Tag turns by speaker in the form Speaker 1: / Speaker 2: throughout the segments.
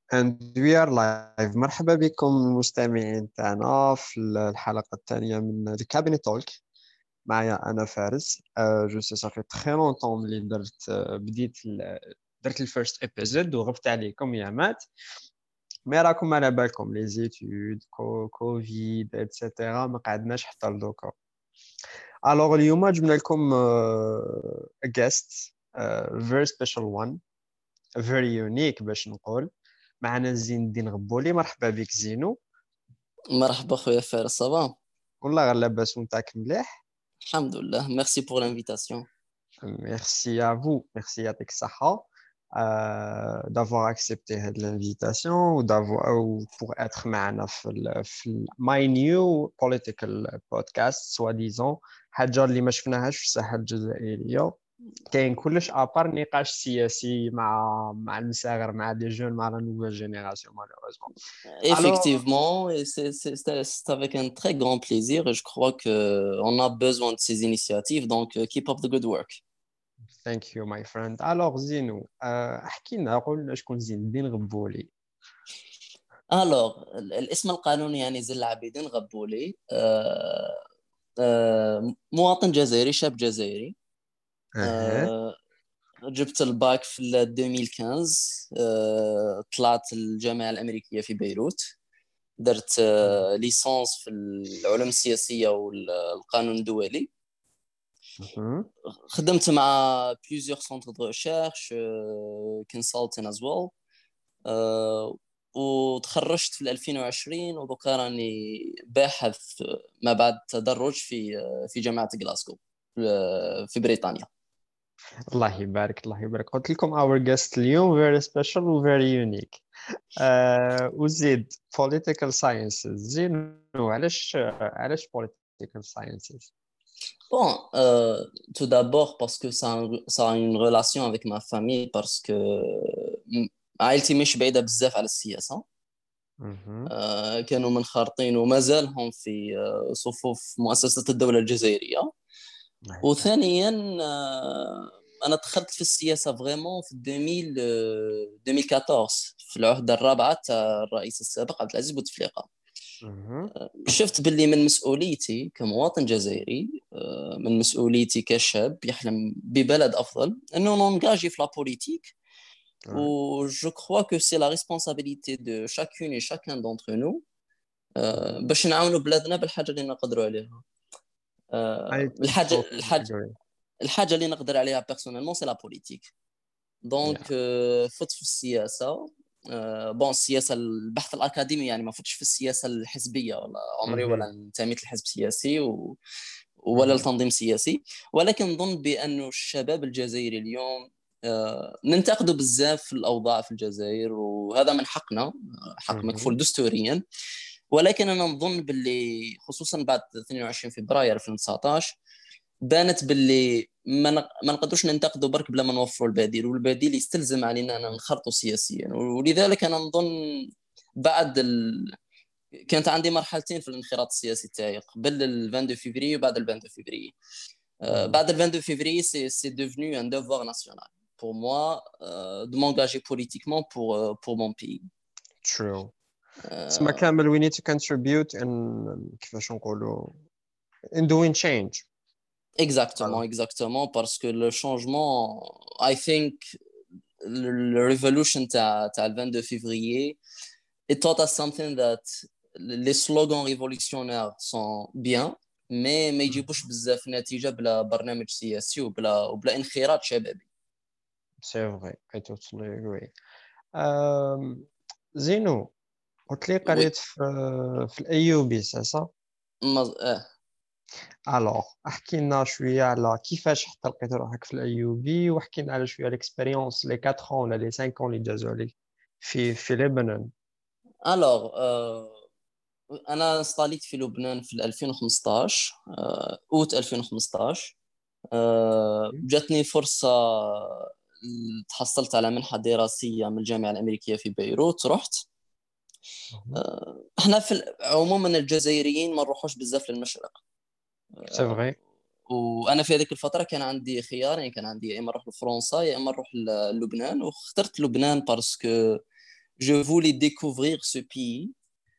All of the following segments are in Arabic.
Speaker 1: And we are live. مرحبا بكم المستمعين تاعنا في الحلقة الثانية من The Cabinet Talk. معايا أنا فارس. جو سي صافي تخي لونطون ملي درت الفيرست ابيزود وغبت عليكم يا مات. مي راكم على بالكم لي زيتود كوفيد اتسيتيرا ما قعدناش حتى لدوكا. الوغ اليوم جبنا لكم a guest, very special one, very unique باش نقول. معنا زين الدين غبولي. مرحبا بك زينو.
Speaker 2: مرحبا خويا فارس صافا.
Speaker 1: والله غير لاباس ونتاك مليح.
Speaker 2: الحمد لله ميرسي بور لانفيتاسيون.
Speaker 1: Merci à vous, merci يعطيك الصحة d'avoir accepté هاد l'invitation ou pour être معنا في my new political podcast soi-disant حاجة اللي ما شفناهاش في الساحة الجزائرية. كاين كلش ابار نقاش سياسي مع المساغر مع دي جون مع لا نوفيل جينيراسيون malheureusement. Alors,
Speaker 2: Effectivement, et c'est avec un très grand plaisir et je crois qu'on a besoin de ces initiatives, donc keep up the good work.
Speaker 1: thank you my friend. Alors زينو احكي لنا قول شكون زين الدين غبولي.
Speaker 2: Alors, الاسم القانوني يعني زين العابدين غبولي. مواطن جزائري، شاب جزائري.
Speaker 1: اها.
Speaker 2: آه، جبت الباك في 2015. طلعت الجامعة الأمريكية في بيروت. درت ليسانس في العلوم السياسية والقانون الدولي.
Speaker 1: مهم.
Speaker 2: خدمت مع plusieurs centres de recherche, consulting as well. وتخرجت في 2020 ودوكا راني باحث ما بعد تدرج في جامعة غلاسكو في بريطانيا.
Speaker 1: الله يبارك الله يبارك. قلت لكم our guest اليوم very special و very unique. وزيد political sciences. زين علاش political sciences؟
Speaker 2: Bon, tout d'abord parce que ça a une relation avec ma famille parce que عائلتي مش بعيدة بزاف على السياسة.
Speaker 1: مهم.
Speaker 2: كانوا منخرطين وما زالهم في صفوف مؤسسة الدولة الجزائرية. وثانيا أنا دخلت في السياسة فريمون في 2014 في العهدة الرابعة تاع الرئيس السابق عبد العزيز بوتفليقة.
Speaker 1: مهم.
Speaker 2: شفت باللي من مسؤوليتي كمواطن جزائري، من مسؤوليتي كشاب يحلم ببلد أفضل أنه ننجاجي في لا بوليتيك.
Speaker 1: Ouais.
Speaker 2: Je crois que c'est la responsabilité de chacune et chacun d'entre nous
Speaker 1: Mhm.
Speaker 2: باش نعاونوا بلادنا بالحاجة اللي نقدروا عليها.
Speaker 1: I totally agree.
Speaker 2: الحاجة اللي نقدر عليها بيرسونيلمون سي لا بوليتيك. دونك
Speaker 1: Yeah.
Speaker 2: فت في السياسة. بون السياسة البحث الأكاديمي يعني ما فتش في السياسة الحزبية، ولا عمري ولا
Speaker 1: Mhm.
Speaker 2: انتميت لحزب سياسي ولا
Speaker 1: Mhm.
Speaker 2: لتنظيم سياسي. ولكن نظن بأن الشباب الجزائري اليوم ننتقدوا بزاف في الأوضاع في الجزائر، وهذا من حقنا، حق
Speaker 1: Mhm.
Speaker 2: مكفول دستوريا. ولكن أنا نظن باللي خصوصا بعد 22 فبراير 2019 بانت باللي ما نقدروش ننتقدوا برك بلا ما نوفروا البديل، والبديل يستلزم علينا أن ننخرطوا سياسيا. ولذلك أنا نظن بعد كانت عندي مرحلتين في الانخراط السياسي تاعي، قبل ال 22 فبراير وبعد ال 22 فبراير.
Speaker 1: Mhm.
Speaker 2: بعد ال 22 février, c'est devenu un devoir national pour moi de m'engager politiquement pour mon pays.
Speaker 1: True. تسمى
Speaker 2: Euh,
Speaker 1: كامل we need to contribute in كيفاش نقولوا in doing change.
Speaker 2: exactement,
Speaker 1: Voilà.
Speaker 2: exactement, parce que le changement, I think, le revolution تاع le 22 février, it taught us something that les slogans révolutionnaires sont bien, mais ما يجيبوش بزاف نتيجة بلا برنامج سياسي وبلا انخراط شبابي.
Speaker 1: C'est vrai. I totally agree. زينو قلت لي
Speaker 2: Oui.
Speaker 1: قريت في الايوبي صح؟ الوغ احكي لنا شويه على كيفاش حتى لقيت روحك في الايوبي، واحكي لنا على شويه الاكسبيريونس لي 4 ولا لي 5 اللي جازوا عليك في لبنان.
Speaker 2: Alors, انا استقليت في لبنان في 2015، اوت 2015. جاتني فرصه، تحصلت على منحه دراسيه من الجامعه الامريكيه في بيروت، رحت. احنا عموما الجزائريين ما نروحوش بزاف للمشرق.
Speaker 1: سي فري.
Speaker 2: وانا في هذيك الفتره كان عندي خيار، يعني كان عندي يا اما نروح لفرنسا يا اما نروح للبنان، واخترت لبنان باسكو je voulais découvrir ce pays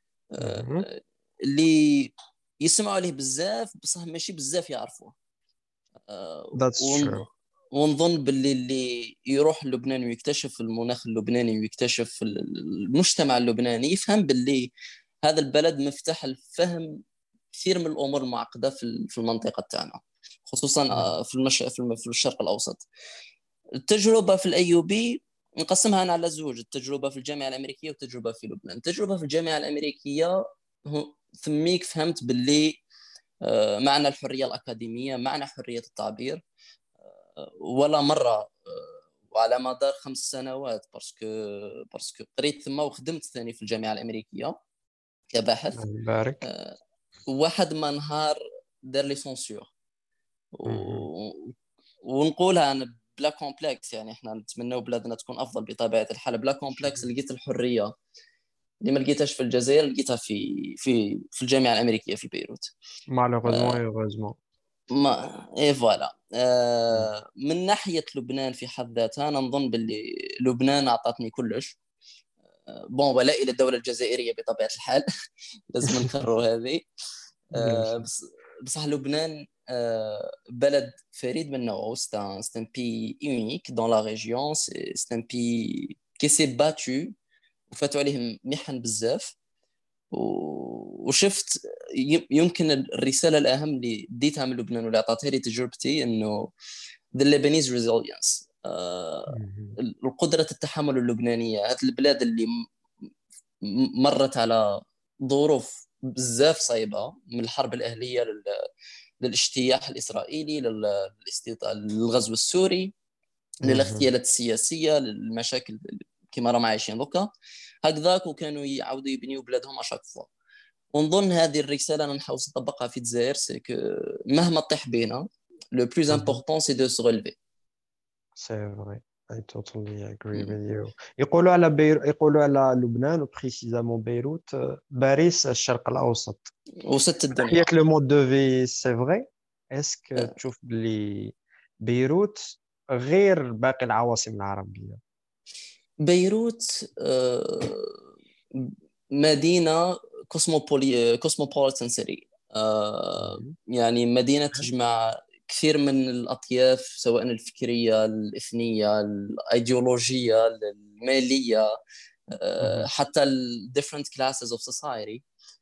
Speaker 2: اللي يسمعوا عليه بزاف بصح ماشي بزاف يعرفوه.
Speaker 1: That's true.
Speaker 2: ونظن باللي اللي يروح لبنان ويكتشف المناخ اللبناني ويكتشف المجتمع اللبناني يفهم باللي هذا البلد مفتاح الفهم كثير من الامور المعقده في المنطقه تاعنا، خصوصا في الشرق الاوسط. التجربه في الايوبي نقسمها أنا على زوج، التجربه في الجامعه الامريكيه والتجربه في لبنان. التجربه في الجامعه الامريكيه ثميك فهمت باللي معنى الحريه الاكاديميه، معنى حريه التعبير. ولا مره وعلى مدار 5 سنوات باسكو قريت ثم وخدمت ثاني في الجامعه الامريكيه كباحث.
Speaker 1: بارك.
Speaker 2: واحد ما نهار دار لي سونسور ونقولها انا بلا كومبلكس، يعني احنا نتمنوا بلادنا تكون افضل بطبيعه الحال. بلا كومبلكس لقيت الحريه اللي ما لقيتهاش في الجزائر لقيتها في الجامعه الامريكيه في بيروت.
Speaker 1: malheureusement et heureusement.
Speaker 2: ما ايه فوالا. من ناحيه لبنان في حد ذاتها انا نظن باللي لبنان اعطتني كلش. بون ولا الى الدوله الجزائريه بطبيعه الحال لازم نكرروا هذه. بصح لبنان بلد فريد من نوعه. c'est un pays unique dans la région. c'est un pays qui s'est battu وفاتوا عليهم محن بزاف. وشفت يمكن الرساله الاهم اللي ديتها من لبنان واللي اعطتها لي تجربتي انه the Lebanese resilience، القدره التحمل اللبنانيه. هذه البلاد اللي مرت على ظروف بزاف صعيبه، من الحرب الاهليه للاجتياح الاسرائيلي للغزو السوري للاغتيالات السياسيه للمشاكل كما راهم عايشين دوكا هكذاك، وكانوا يعاودوا يبنيوا بلادهم اشاك فوا. ونظن هذه الرساله انا نحاول نطبقها في الجزائر، سي كو مهما طيح بينا لو بلوز امبورطون سي دو سو ريليفي.
Speaker 1: C'est vrai. I totally agree with you. يقولوا على لبنان وبريسيزامون بيروت باريس الشرق الأوسط.
Speaker 2: وست الدنيا.
Speaker 1: حيت لو مود دو في سي فري. اسك تشوف بلي بيروت غير باقي العواصم العربية؟
Speaker 2: بيروت مدينة كوسموبوليتان سيتي، يعني مدينة تجمع كثير من الأطياف سواء الفكرية الإثنية الأيديولوجية المالية، حتى ال different classes of society.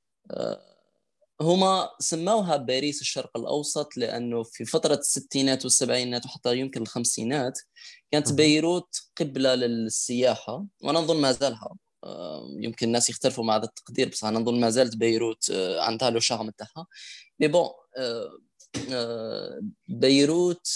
Speaker 2: هما سموها باريس الشرق الأوسط لأنه في فترة الستينات والسبعينات وحتى يمكن الخمسينات كانت بيروت قبلة للسياحة، وأنا نظن ما زالها. يمكن الناس يختلفوا مع هذا التقدير، بس أنا نظن ما زالت بيروت عندها له شغم تاعها. مي بون بيروت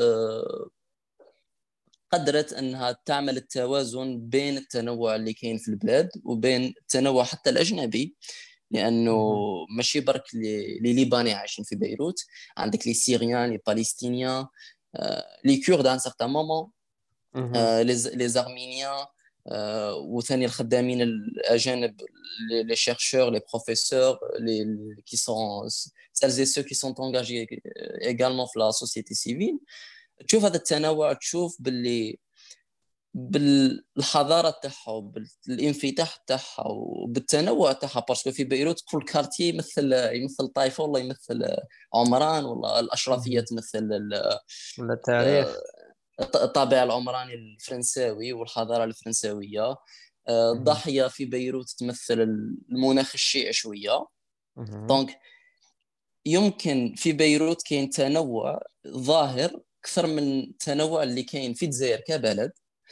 Speaker 2: قدرت أنها تعمل التوازن بين التنوع اللي كاين في البلاد وبين التنوع حتى الأجنبي، لانه ماشي برك لي ليباني عايشين في بيروت، عندك لي سيريان لي بالستينيان لي كورد ان سارتان مومون لي زارمينيان وثاني الخدامين الاجانب لي شيرشور لي بروفيسور لي كي سون سيلز اي سو كي سون انغاجي ايغالمون في لا سوسيتي سيفيل. تشوف هذا التنوع، تشوف باللي بالحضاره تاعها وبالانفتاح تاعها وبالتنوع تاعها، باسكو في بيروت كل كارتي يمثل طائفه، والله يمثل عمران، والله الاشرفيه تمثل
Speaker 1: التاريخ،
Speaker 2: الطابع العمراني الفرنساوي والحضاره الفرنساويه. الضاحيه في بيروت تمثل المناخ الشيعي شويه. دونك يمكن في بيروت كاين تنوع ظاهر اكثر من التنوع اللي كاين في الجزائر كبلد.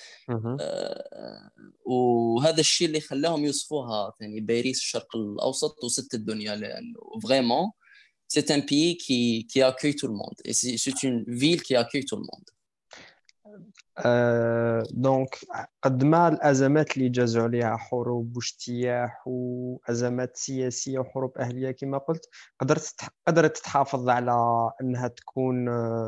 Speaker 2: وهذا الشيء اللي خلاهم يوصفوها ثاني باريس الشرق الاوسط وست الدنيا، لانه فريمون c'est un pays qui accueille tout le monde et c'est une ville qui accueille tout le monde.
Speaker 1: دونك قد ما الازمات اللي جازوا عليها حروب واجتياح وازمات سياسيه وحروب اهليه كما قلت، قدرت تحافظ على انها تكون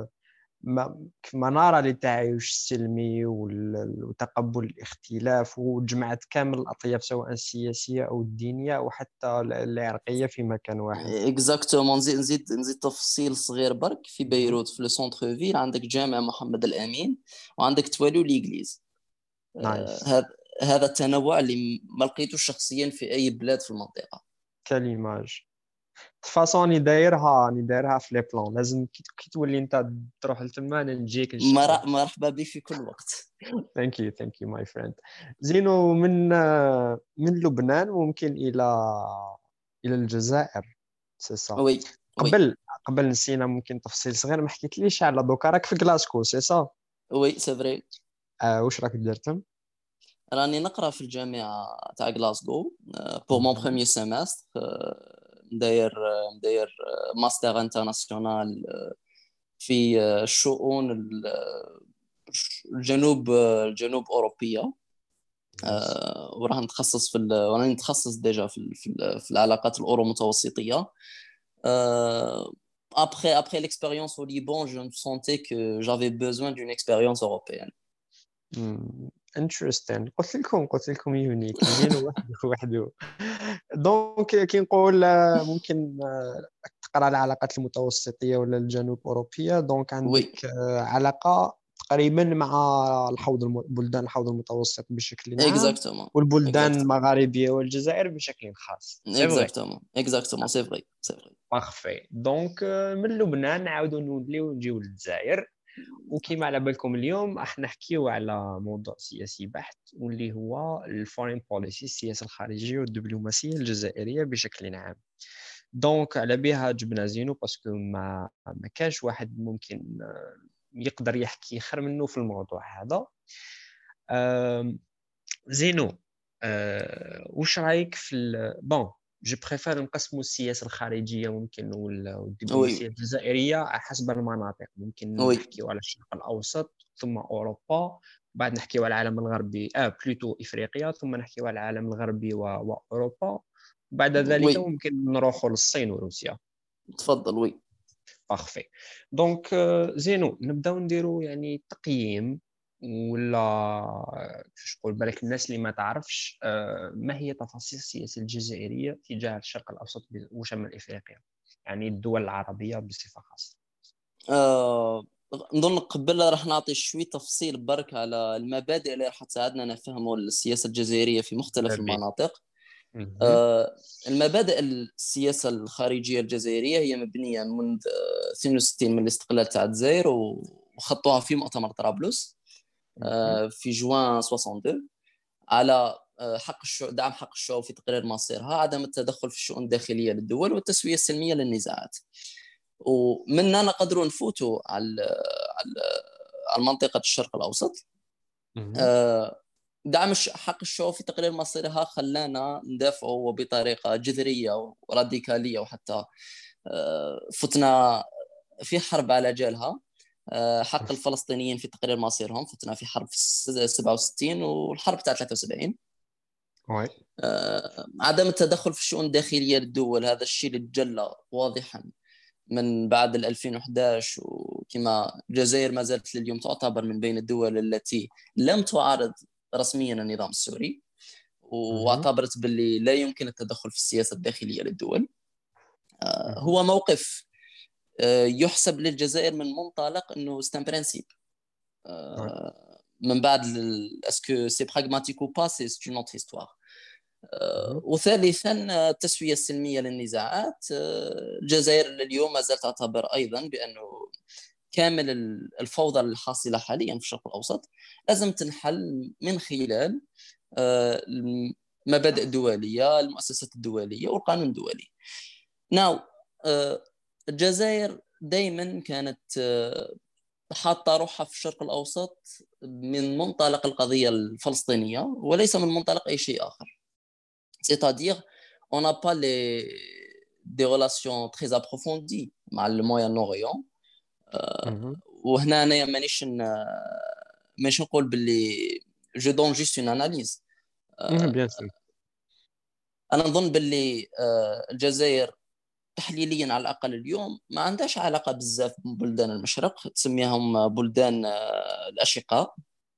Speaker 1: منارة للتعايش السلمي وتقبل الاختلاف، وجمعت كامل الأطياف سواء السياسية أو الدينية أو حتى العرقية في مكان واحد.
Speaker 2: اكزاكتومون. نزيد تفصيل صغير برك. في بيروت في لو سونتر فيل عندك جامع محمد الأمين وعندك توالو ليغليز. هذا التنوع اللي ما لقيتوش شخصيا في اي بلاد في المنطقه.
Speaker 1: كليماج فاصون ني دايرها في لي بلان، لازم كي تولي انت تروح لتما انا نجيك ان شاء الله.
Speaker 2: مرحبا بك في كل وقت.
Speaker 1: ثانك يو ماي فريند. زينو، من لبنان ممكن الى الجزائر، سي صا.
Speaker 2: وي وي
Speaker 1: قبل نسينا ممكن تفصيل صغير، ما حكيتليش على دوكا راك في غلاسكو، سي صا؟
Speaker 2: وي سي فري.
Speaker 1: واش راك درتم؟
Speaker 2: راني نقرا في الجامعه تاع غلاسكو بور مون
Speaker 1: مهم.
Speaker 2: بروميير سيمستر. مداير ماستر انترناسيونال في الشؤون الجنوب اوروبيه.
Speaker 1: Nice.
Speaker 2: وراح نتخصص وراني نتخصص ديجا في العلاقات الاورو متوسطيه. Après l'expérience au Liban, je me sentais que j'avais besoin d'une expérience européenne.
Speaker 1: Interesting. قلت لكم يونيك زين وحده. دونك كي نقول ممكن تقرا العلاقات المتوسطيه ولا الجنوب اوروبيه، دونك
Speaker 2: Oui,
Speaker 1: عندك علاقه تقريبا مع بلدان الحوض المتوسط بشكل عام،
Speaker 2: exactement,
Speaker 1: والبلدان
Speaker 2: exactement,
Speaker 1: المغاربيه والجزائر بشكل خاص، سي فري.
Speaker 2: exactement, exactement, c'est vrai, c'est vrai.
Speaker 1: بارفي. دونك من لبنان نعاودوا نوليو نجيو للجزائر. وكما على بالكم اليوم راح نحكيو على موضوع سياسي بحت، واللي هو الفورين بوليسي، السياسة الخارجية والدبلوماسية الجزائرية بشكل عام. دونك على بها جبنا زينو باسكو ما كانش واحد ممكن يقدر يحكي خير منه في الموضوع هذا. زينو، واش رايك في بون، جو بريفير نقسموا السياسه الخارجيه ممكن والدبلوماسيه
Speaker 2: Oui,
Speaker 1: الجزائريه حسب المناطق. ممكن
Speaker 2: oui,
Speaker 1: نحكيو على الشرق الاوسط ثم اوروبا، بعد نحكيو على العالم الغربي بلوتو افريقيا، ثم نحكيو على العالم الغربي واوروبا. بعد ذلك
Speaker 2: oui,
Speaker 1: ممكن نروحوا للصين وروسيا.
Speaker 2: تفضل. oui.
Speaker 1: بارفي. دونك زينو، نبداو نديرو يعني تقييم، ولا كيفاش نقول بالك الناس اللي ما تعرفش ما هي تفاصيل السياسة الجزائرية تجاه الشرق الأوسط وشمال إفريقيا، يعني الدول العربية بصفة خاصة.
Speaker 2: آه، نظن قبل راح نعطي شوي تفصيل برك على المبادئ اللي راح تساعدنا نفهموا السياسة الجزائرية في مختلف
Speaker 1: به.
Speaker 2: المناطق.
Speaker 1: مهم.
Speaker 2: المبادئ السياسة الخارجية الجزائرية هي مبنية منذ 62 من الاستقلال تاع الجزائر، وخطوها في مؤتمر طرابلس
Speaker 1: مهم.
Speaker 2: في جوان 62 على دعم حق الشعوب في تقرير مصيرها، عدم التدخل في الشؤون الداخلية للدول، والتسوية السلمية للنزاعات. ومننا نقدروا نفوتوا على منطقة الشرق الأوسط.
Speaker 1: مهم.
Speaker 2: آه، دعم حق الشعوب في تقرير مصيرها خلانا ندافعوا بطريقة جذرية وراديكالية، وحتى فتنا في حرب على جالها. حق الفلسطينيين في تقرير مصيرهم، فتنا في حرب 67 والحرب تاع 73.
Speaker 1: وي.
Speaker 2: عدم التدخل في الشؤون الداخلية للدول، هذا الشيء اللي تجلى واضحا من بعد 2011. وكما الجزائر ما زالت لليوم تعتبر من بين الدول التي لم تعارض رسميا النظام السوري،
Speaker 1: مهم.
Speaker 2: واعتبرت باللي لا يمكن التدخل في السياسة الداخلية للدول.
Speaker 1: مهم.
Speaker 2: هو موقف يحسب للجزائر من منطلق انه ستان برانسيب.
Speaker 1: وي.
Speaker 2: من بعد اسكو سي براغماتيك او با، سي اون اوتر هيستوار.
Speaker 1: مهم.
Speaker 2: وثالثا التسوية السلمية للنزاعات. الجزائر اليوم ما زالت تعتبر أيضا بأنه كامل الفوضى الحاصلة حاليا في الشرق الأوسط لازم تنحل من خلال المبادئ الدولية، المؤسسات الدولية والقانون الدولي. ناو الجزائر دائما كانت حاطة روحها في الشرق الأوسط من منطلق القضية الفلسطينية، وليس من منطلق أي شيء آخر. C'est-à-dire, on n'a pas des relations très approfondies مع le Moyen-Orient.
Speaker 1: مهم.
Speaker 2: وهنا أنا مانيش نقول باللي je donne juste une analyse.
Speaker 1: بيان سور.
Speaker 2: أنا نظن باللي الجزائر تحليليا على الأقل اليوم ما عندهاش علاقة بزاف ببلدان المشرق، تسميهم بلدان الأشقاء.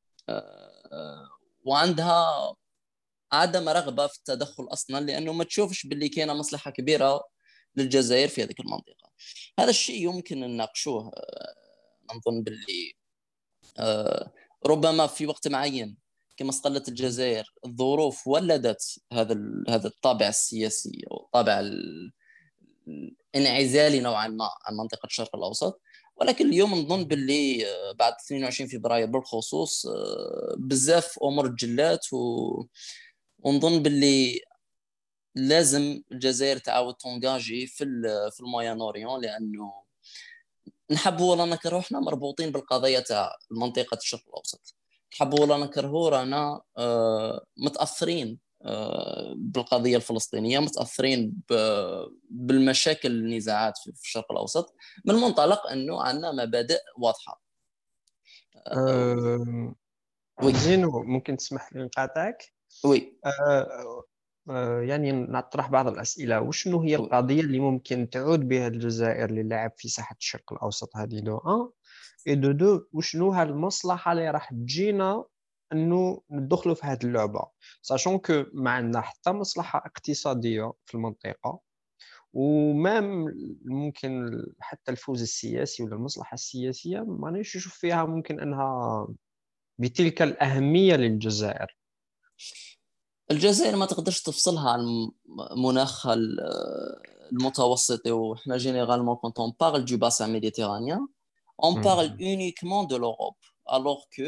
Speaker 2: وعندها عدم رغبة في التدخل أصلا، لأنه ما تشوفش باللي كاينة مصلحة كبيرة للجزائر في هذه المنطقة. هذا الشيء يمكن أن نناقشوه. نظن باللي ربما في وقت معين كما استقلت الجزائر الظروف ولدت هذا الطابع السياسي أو الطابع الانعزالي نوعا ما عن منطقة الشرق الأوسط. ولكن اليوم نظن باللي بعد 22 فبراير بالخصوص بزاف أمور تجلات ونظن باللي لازم الجزائر تعاود تونجاجي في الموين اوريون، لانه نحبوا ولا نكرهوا احنا مربوطين بالقضيه تاع منطقه الشرق الاوسط. نحبوا ولا نكرهوا رانا متاثرين بالقضيه الفلسطينيه، متاثرين بالمشاكل النزاعات في الشرق الاوسط، من منطلق انه عندنا مبادئ واضحه. وي
Speaker 1: زينو، ممكن تسمح لي نقاطعك؟
Speaker 2: وي
Speaker 1: يعني نطرح بعض الأسئلة. وشنو هي
Speaker 2: وي.
Speaker 1: القضية اللي ممكن تعود بها الجزائر للعب في ساحة الشرق الأوسط؟ هذه دو أن إي دو وشنو هالمصلحة اللي راح تجينا أنه ندخلوا في هذه اللعبة، ساشون كو ما عندنا حتى مصلحة اقتصادية في المنطقة، ومام ممكن حتى الفوز السياسي ولا المصلحة السياسية ما نشوف فيها ممكن أنها بتلك الأهمية للجزائر.
Speaker 2: الجزائر ما تقدرش تفصلها عن مناخ المتوسطي. وإحنا جينيرالمون كونت اون بارل دو باسان ميديتيرانيان اون بارل اونيكمون دو لوروب، الوغ كو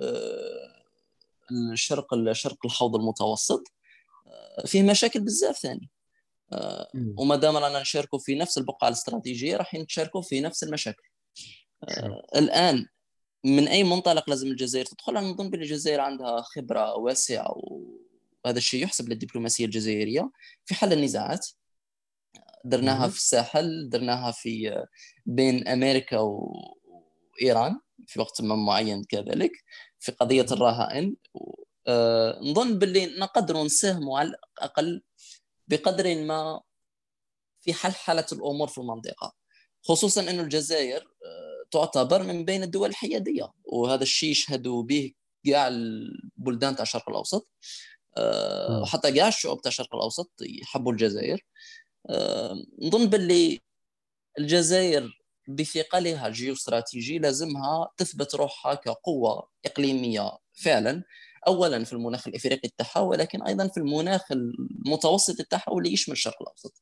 Speaker 2: الشرق الحوض المتوسط فيه مشاكل بزاف ثاني. وما دام رانا نشاركوا في نفس البقعة الاستراتيجية راح نتشاركوا في نفس المشاكل. الآن من أي منطلق لازم الجزائر تدخل؟ أنا نظن بأن الجزائر عندها خبرة واسعة، وهذا الشيء يحسب للدبلوماسية الجزائرية في حل النزاعات. درناها في الساحل، درناها في بين أمريكا وإيران في وقت ما معين، كذلك في قضية الرهائن. نظن باللي نقدر نساهموا على الأقل بقدر ما في حلحلة الأمور في المنطقة، خصوصا أن الجزائر تعتبر من بين الدول الحيادية، وهذا الشيء يشهدوا به كاع البلدان تاع الشرق الأوسط، وحتى كاع الشعوب تاع الشرق الأوسط يحبوا الجزائر. نظن باللي الجزائر بثقلها الجيوستراتيجي لازمها تثبت روحها كقوة إقليمية فعلا، أولا في المناخ الإفريقي تاعها، ولكن أيضا في المناخ المتوسط تاعها واللي يشمل الشرق الأوسط.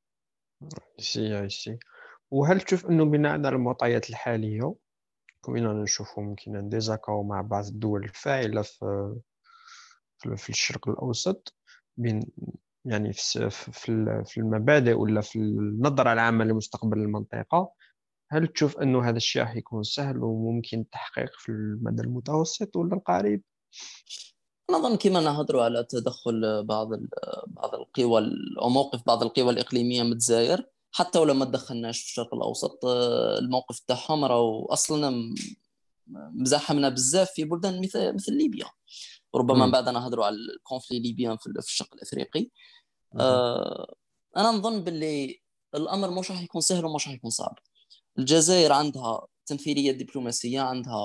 Speaker 1: سي وهل تشوف انه بناء على المعطيات الحاليه كنا نشوفوا ممكن ديزاكاو مع بعض الدول الفاعله في الشرق الاوسط، بين يعني في المبادئ ولا في النظره العامه لمستقبل المنطقه؟ هل تشوف انه هذا الشيء راح يكون سهل وممكن التحقيق في المدى المتوسط ولا القريب؟
Speaker 2: نظن كما نهضروا على تدخل بعض القوى أو موقف بعض القوى الإقليمية من الجزائر، حتى ولو ما تدخلناش في الشرق الأوسط الموقف تاعهم راهو أصلا مزاحمنا بزاف في بلدان مثل ليبيا. وربما من بعد نهضروا على الكونفلي الليبيان في الشرق الأفريقي. أنا نظن باللي الأمر مش راح يكون سهل ومش راح يكون صعب. الجزائر عندها تمثيلية دبلوماسية، عندها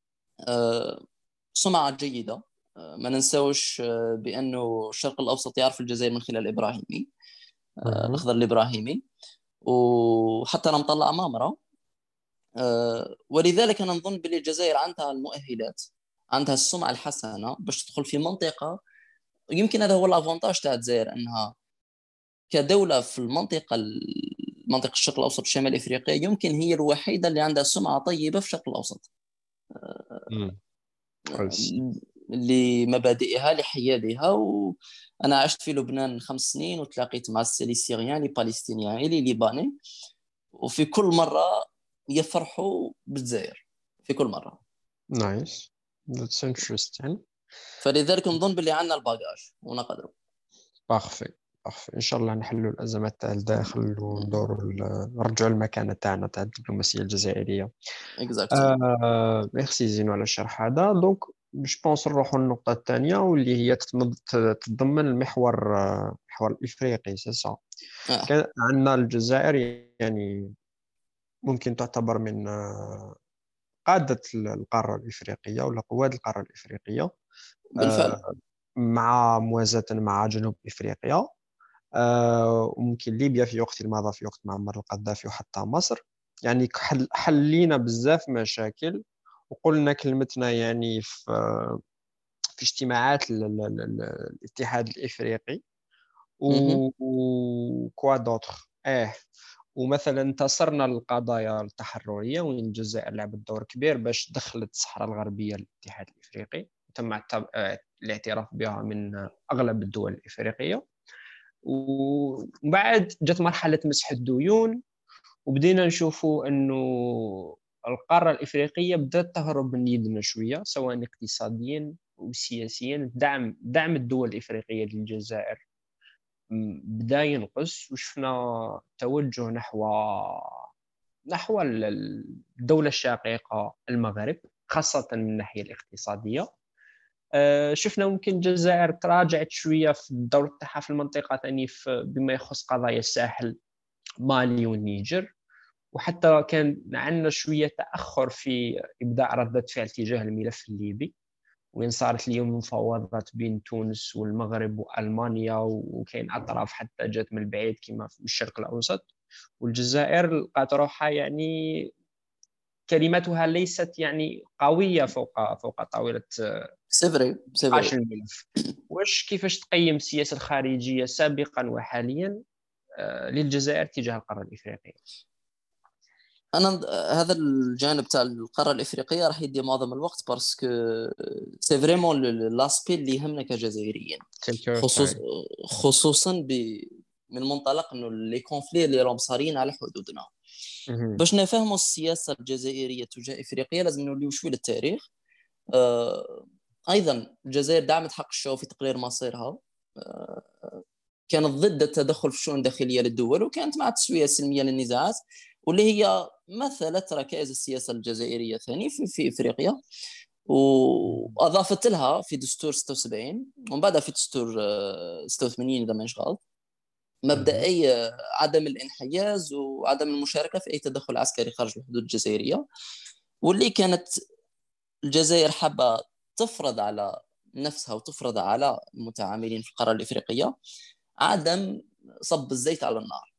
Speaker 2: سمعة جيدة. ما ننساوش بأنه الشرق الأوسط يعرف الجزائر من خلال إبراهيمي، الأخضر الإبراهيمي، وحتى أنا مطلع مامرة. ولذلك أنا نظن بأن الجزائر عندها المؤهلات، عندها السمعة الحسنة باش تدخل في منطقة. يمكن هذا هو الأفونتاج تاع الجزائر، أنها كدولة في منطقة الشرق الأوسط الشمال إفريقيا يمكن هي الوحيدة اللي عندها سمعة طيبة في الشرق الأوسط لمبادئها لحيادها. وأنا عشت في لبنان 5 سنين وتلاقيت مع السيلي سيريان لي بالستينيان لي ليباني، وفي كل مرة يفرحوا بالجزائر في كل مرة.
Speaker 1: نايس، that's interesting.
Speaker 2: فلذلك نظن باللي عندنا الباجاج ونقدروا.
Speaker 1: بارفي ان شاء الله نحلوا الازمات تاع الداخل وندوروا نرجعوا المكانه تاعنا تاع الدبلوماسيه الجزائريه. ميرسي زينو على الشرح هذا. دونك جو بونس نروحوا للنقطه الثانيه واللي هي تتضمن المحور الافريقي. سي صا كان عندنا الجزائر يعني ممكن تعتبر من قادة القارة الإفريقية ولا قواد القارة الإفريقية،
Speaker 2: بالفعل.
Speaker 1: مع موازاة مع جنوب إفريقيا، وممكن ليبيا في وقت مضى في وقت معمر القذافي وحتى مصر. يعني حلينا بزاف مشاكل وقلنا كلمتنا يعني في اجتماعات الاتحاد الافريقي
Speaker 2: مهم.
Speaker 1: وكوا دوتر ومثلا انتصرنا للقضايا التحرريه وين الجزائر لعبت دور كبير باش دخلت الصحراء الغربيه للاتحاد الافريقي وتم الاعتراف بها من اغلب الدول الافريقيه. ومن بعد جت مرحله مسح الديون وبدينا نشوفوا انه القاره الافريقيه بدات تهرب من يدنا شويه سواء اقتصاديا وسياسيا. دعم الدول الافريقيه للجزائر بدا ينقص وشفنا توجه نحو الدوله الشقيقه المغرب خاصه من الناحيه الاقتصاديه. شفنا ممكن الجزائر تراجعت شويه في الدور تاعها في المنطقه ثاني بما يخص قضايا الساحل مالي والنيجر. وحتى كان عندنا شويه تاخر في ابداء رده فعل تجاه الملف الليبي وين صارت اليوم مفاوضات بين تونس والمغرب والمانيا وكاين اطراف حتى جات من البعيد كما في الشرق الاوسط. والجزائر لقات روحها يعني كلمتها ليست يعني قويه فوق طاوله
Speaker 2: سي فري سي
Speaker 1: نقاش
Speaker 2: فري.
Speaker 1: الملف. كيفاش تقيم السياسه الخارجيه سابقا وحاليا للجزائر تجاه القاره الافريقيه؟
Speaker 2: انا هذا الجانب تاع القاره الافريقيه راح يدي معظم الوقت باسكو سي فريمون لاسبي اللي يهمنا كجزائريين،
Speaker 1: Take your
Speaker 2: خصوص
Speaker 1: time.
Speaker 2: خصوصا من منطلق انه لي كونفلي اللي راهم صارين على حدودنا. باش نفهموا السياسه الجزائريه تجاه افريقيا لازم نوليو شوي للتاريخ. ايضا الجزائر دعمت حق الشعوب في تقرير مصيرها، كانت ضد التدخل في الشؤون الداخليه للدول وكانت مع التسويه السلميه للنزاعات، واللي هي مثلت ركائز السياسه الجزائريه ثاني في افريقيا، واضافت لها في دستور 76 ومن بعدها في دستور 86 اذا ما غلط مبدئي عدم الانحياز وعدم المشاركه في اي تدخل عسكري خارج الحدود الجزائريه، واللي كانت الجزائر حابه تفرض على نفسها وتفرض على المتعاملين في القاره الافريقيه عدم صب الزيت على النار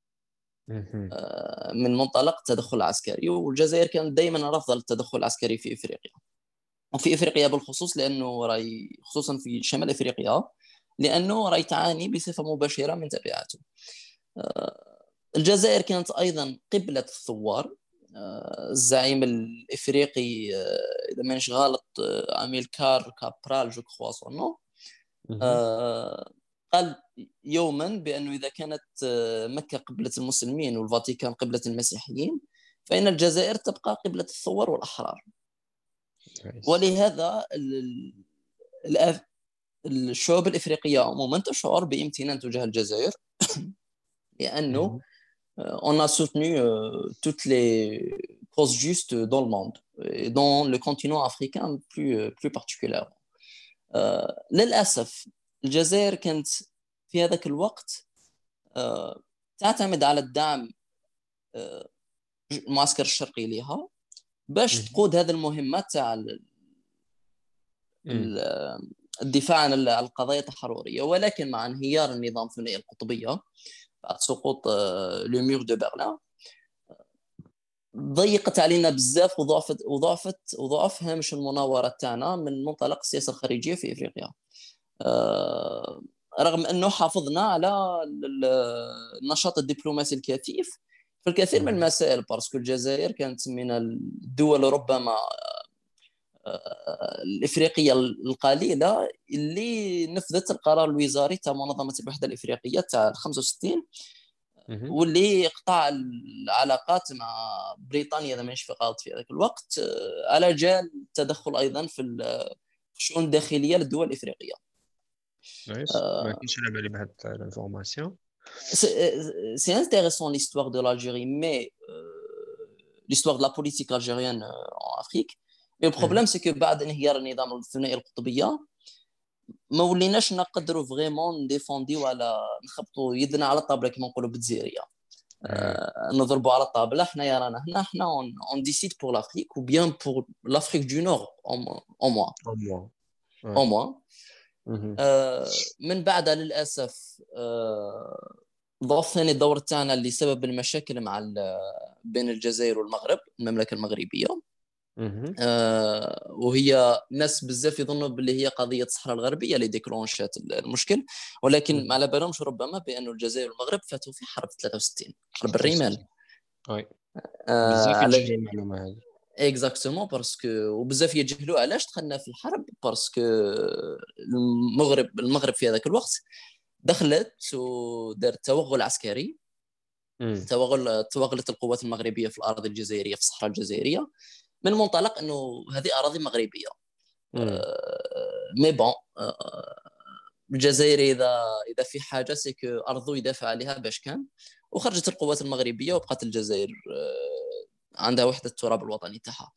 Speaker 2: من منطلق التدخل العسكري. والجزائر كانت دائما رافضه التدخل العسكري في افريقيا، وفي افريقيا بالخصوص لانه راي خصوصا في شمال افريقيا لانه راي تعاني بصفه مباشره من تبعاته. الجزائر كانت ايضا قبله الثوار. الزعيم الافريقي اذا مانيش غلط اميلكار كابرال جو كخوا سونو قال يوما بانه اذا كانت مكه قبله المسلمين والفاتيكان قبله المسيحيين فان الجزائر تبقى قبله الثوار والاحرار. ولهذا الشعوب الافريقيه عموما تشعر بامتنان تجاه الجزائر لانه on a soutenu toutes les causes justes dans le monde et dans le continent africain plus particulièrement. للأسف الجزائر كانت في هذاك الوقت تعتمد على الدعم المعسكر الشرقي لها باش تقود هذه المهمات تاع الدفاع عن القضايا التحررية. ولكن مع انهيار النظام الثنائي القطبية بعد سقوط لو مور دو برلين ضيقت علينا بزاف وضعف هامش المناورة تاعنا من منطلق السياسة الخارجية في افريقيا، رغم انه حافظنا على النشاط الدبلوماسي الكثيف في الكثير من المسائل باسكو الجزائر كانت من الدول ربما الافريقيه القليله اللي نفذت القرار الوزاري تاع منظمه الوحده الافريقيه تاع 65 واللي قطع العلاقات مع بريطانيا اذا مانيش غلط في ذاك الوقت على جال التدخل ايضا في الشؤون الداخليه للدول الافريقيه.
Speaker 1: ما كنتش على بالي بهاد الانفورماسيون.
Speaker 2: C'est intéressant l'histoire de l'Algérie, mais l'histoire de la politique algérienne en Afrique. Mais le problème, c'est que بعد انهيار النظام الثنائي القطبية ما وليناش نقدروا فريمون نديفونديو ولا نخبطوا يدنا على الطابلة كما نقولوا بالجزائرية. نضربوا على الطابلة حنايا رانا هنا حنا on décide pour l'Afrique ou bien pour l'Afrique du Nord au moins. من بعدها للأسف ضاف ثاني الدور تاعنا اللي سبب المشاكل مع بين الجزائر والمغرب المملكة المغربية وهي ناس بزاف يظنوا باللي هي قضيه الصحراء الغربيه اللي ديكلونشات المشكل، ولكن ما على بالهمش ربما بانه الجزائر والمغرب فاتوا في حرب 63، حرب الرمال.
Speaker 1: وي بزاف
Speaker 2: على
Speaker 1: يتجهلوا المعلومه هذه.
Speaker 2: اكزاكتومون باسكو وبزاف يجهلوا علاش دخلنا في الحرب، باسكو المغرب في هذاك الوقت دخلت ودارت توغل عسكري، توغلت القوات المغربيه في الاراضي الجزائريه في الصحراء الجزائريه من منطلق انه هذه اراضي مغربيه. مي بون الجزائر اذا في حاجه سيكو ارضو يدافع عليها باش كان، وخرجت القوات المغربيه وبقات الجزائر عندها وحده التراب الوطني تاعها.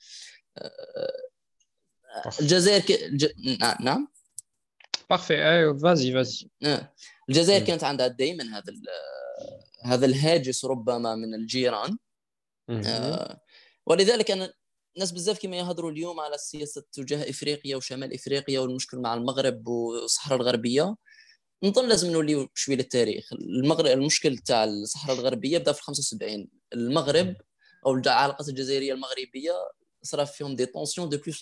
Speaker 2: الجزائر نعم
Speaker 1: بارفي. ايوه فازي.
Speaker 2: الجزائر كانت عندها دائما هذا الهاجس ربما من الجيران. ولذلك انا ناس بزاف كما يهضروا اليوم على السياسه تجاه افريقيا وشمال افريقيا والمشكل مع المغرب والصحراء الغربيه، نظن لازم نوليو شويه للتاريخ. المغرب المشكل تاع الصحراء الغربيه بدا في 75. المغرب او العلاقات الجزائريه المغربيه صار فيهم دي طونسيون دوبي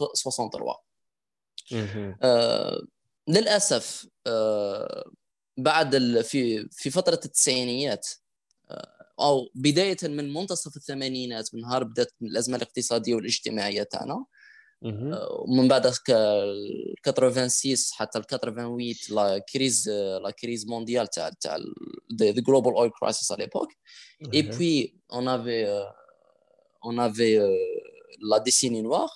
Speaker 2: 63. للاسف بعد في فتره التسعينيات او بدايه من منتصف الثمانينات، من نهار بدات الازمه الاقتصاديه والاجتماعيه تاعنا، ومن بعد 86 حتى 88 لا كريز مونديال تاع ذا جلوبال اويل كرايسيس على ليبوك. اي بوي اون افي لا ديسيني نوار،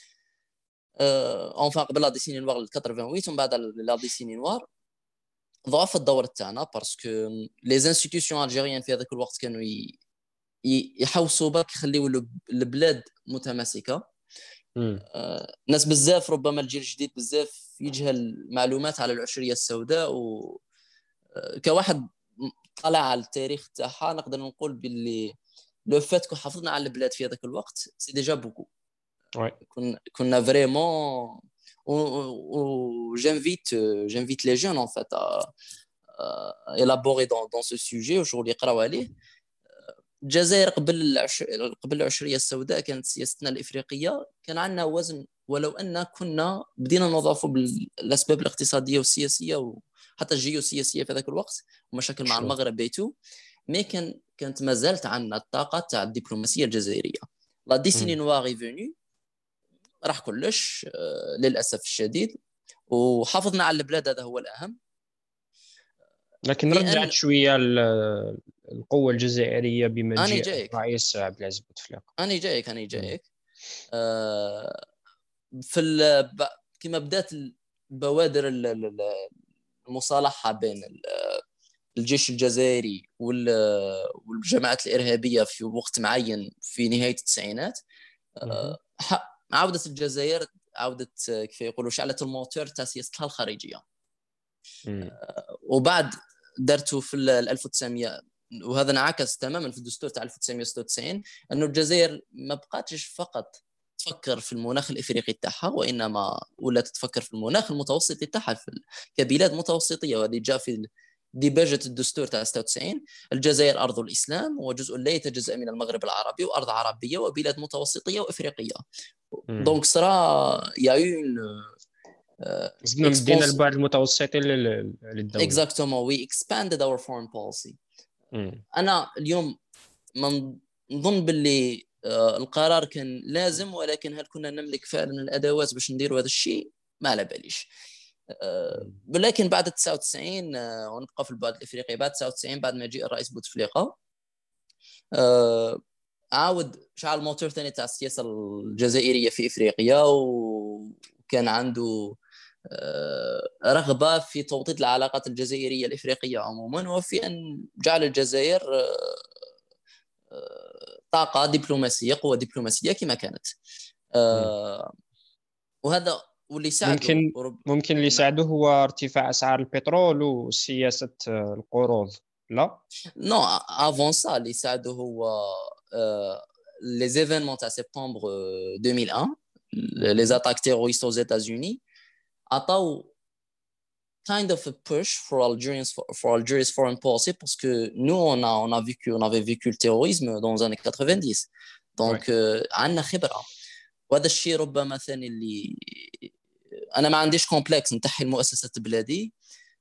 Speaker 2: اونفا قبل لا ديسيني نوار 88 ومن بعد لا ديسيني نوار ضعف الدور تاعنا، باسكو لي انستيتيوشن الجيريان في هذاك الوقت كانوا يحوسوا برك يخليوا البلاد متماسكه. ناس بزاف ربما الجيل الجديد بزاف يجهل معلومات على العشريه السوداء، وكواحد طلع على التاريخ تاعها نقدر نقول باللي لو فات كو حافظنا على البلاد في هذاك الوقت سي ديجا بوكو. كنا فريمون j'invite les jeunes en fait à élaborer dans ce sujet وشغل يقراو عليه. الجزائر قبل العشريه السوداء كانت سياستنا الافريقيه كان عندنا وزن، ولو ان كنا بدينا نضاف بالاسباب الاقتصاديه والسياسيه وحتى الجيوسياسيه في ذاك الوقت ومشاكل مع المغرب بيتو، مي كانت ما زالت عندنا الطاقه تاع الدبلوماسيه الجزائريه. لا ديسيني نوار فيني راح كلش للاسف الشديد، وحافظنا على البلاد هذا هو الاهم.
Speaker 1: لكن رجعت شويه القوه الجزائريه بما جاء الرئيس عبد العزيز بوتفليقه.
Speaker 2: انا جايك كما بدات بوادر المصالحه بين الجيش الجزائري والجماعات الارهابيه في وقت معين في نهايه التسعينات. عودت الجزائر كيف يقولوا شعلت الموتور تاع سياستها الخارجيه. وبعد درتوا في 1900 وهذا انعكس تماما في الدستور تاع 1996 انه الجزائر ما بقاتش فقط تفكر في المناخ الافريقي تاعها، وانما ولات تفكر في المناخ المتوسطي تاعها كبلاد متوسطيه. وهذه جاء في ديباجة الدستور تاع 96. الجزائر ارض الاسلام وجزء لا يتجزا من المغرب العربي وارض عربيه وبلاد متوسطيه وافريقيه. دونك صرا يا اون
Speaker 1: زدنا مدينا البعد المتوسطي للدوله.
Speaker 2: اكزاكتومون وي اكسباندد اور فورين بوليسي. انا اليوم نظن باللي القرار كان لازم، ولكن هل كنا نملك فعلا الادوات باش نديروا هذا الشيء؟ ما على باليش. ولكن بعد 99 ونبقى في البعد الافريقي، بعد 99 بعد ما جاء الرئيس بوتفليقه عاود شعل الموتور ثاني تاع السياسه الجزائريه في افريقيا، وكان عنده رغبه في توطيد العلاقات الجزائريه الافريقيه عموما، وفي ان جعل الجزائر طاقه دبلوماسيه، قوه دبلوماسيه كما كانت. وهذا واللي ساعده
Speaker 1: ممكن اللي ساعده هو ارتفاع اسعار البترول وسياسه القروض. لا
Speaker 2: نو افون سا اللي ساعده هو لي زيفينمون تاع سبتمبر 2001 لي زاتاك تيروريست aux États-Unis عطاو kind of a push for Algeria's foreign policy, parce que nous on avait vécu le terrorisme dans les années 90. Donc عندنا خبره. وهذا الشيء ربما ثاني اللي انا ما عنديش كومبلكس نتحي المؤسسات بلادي،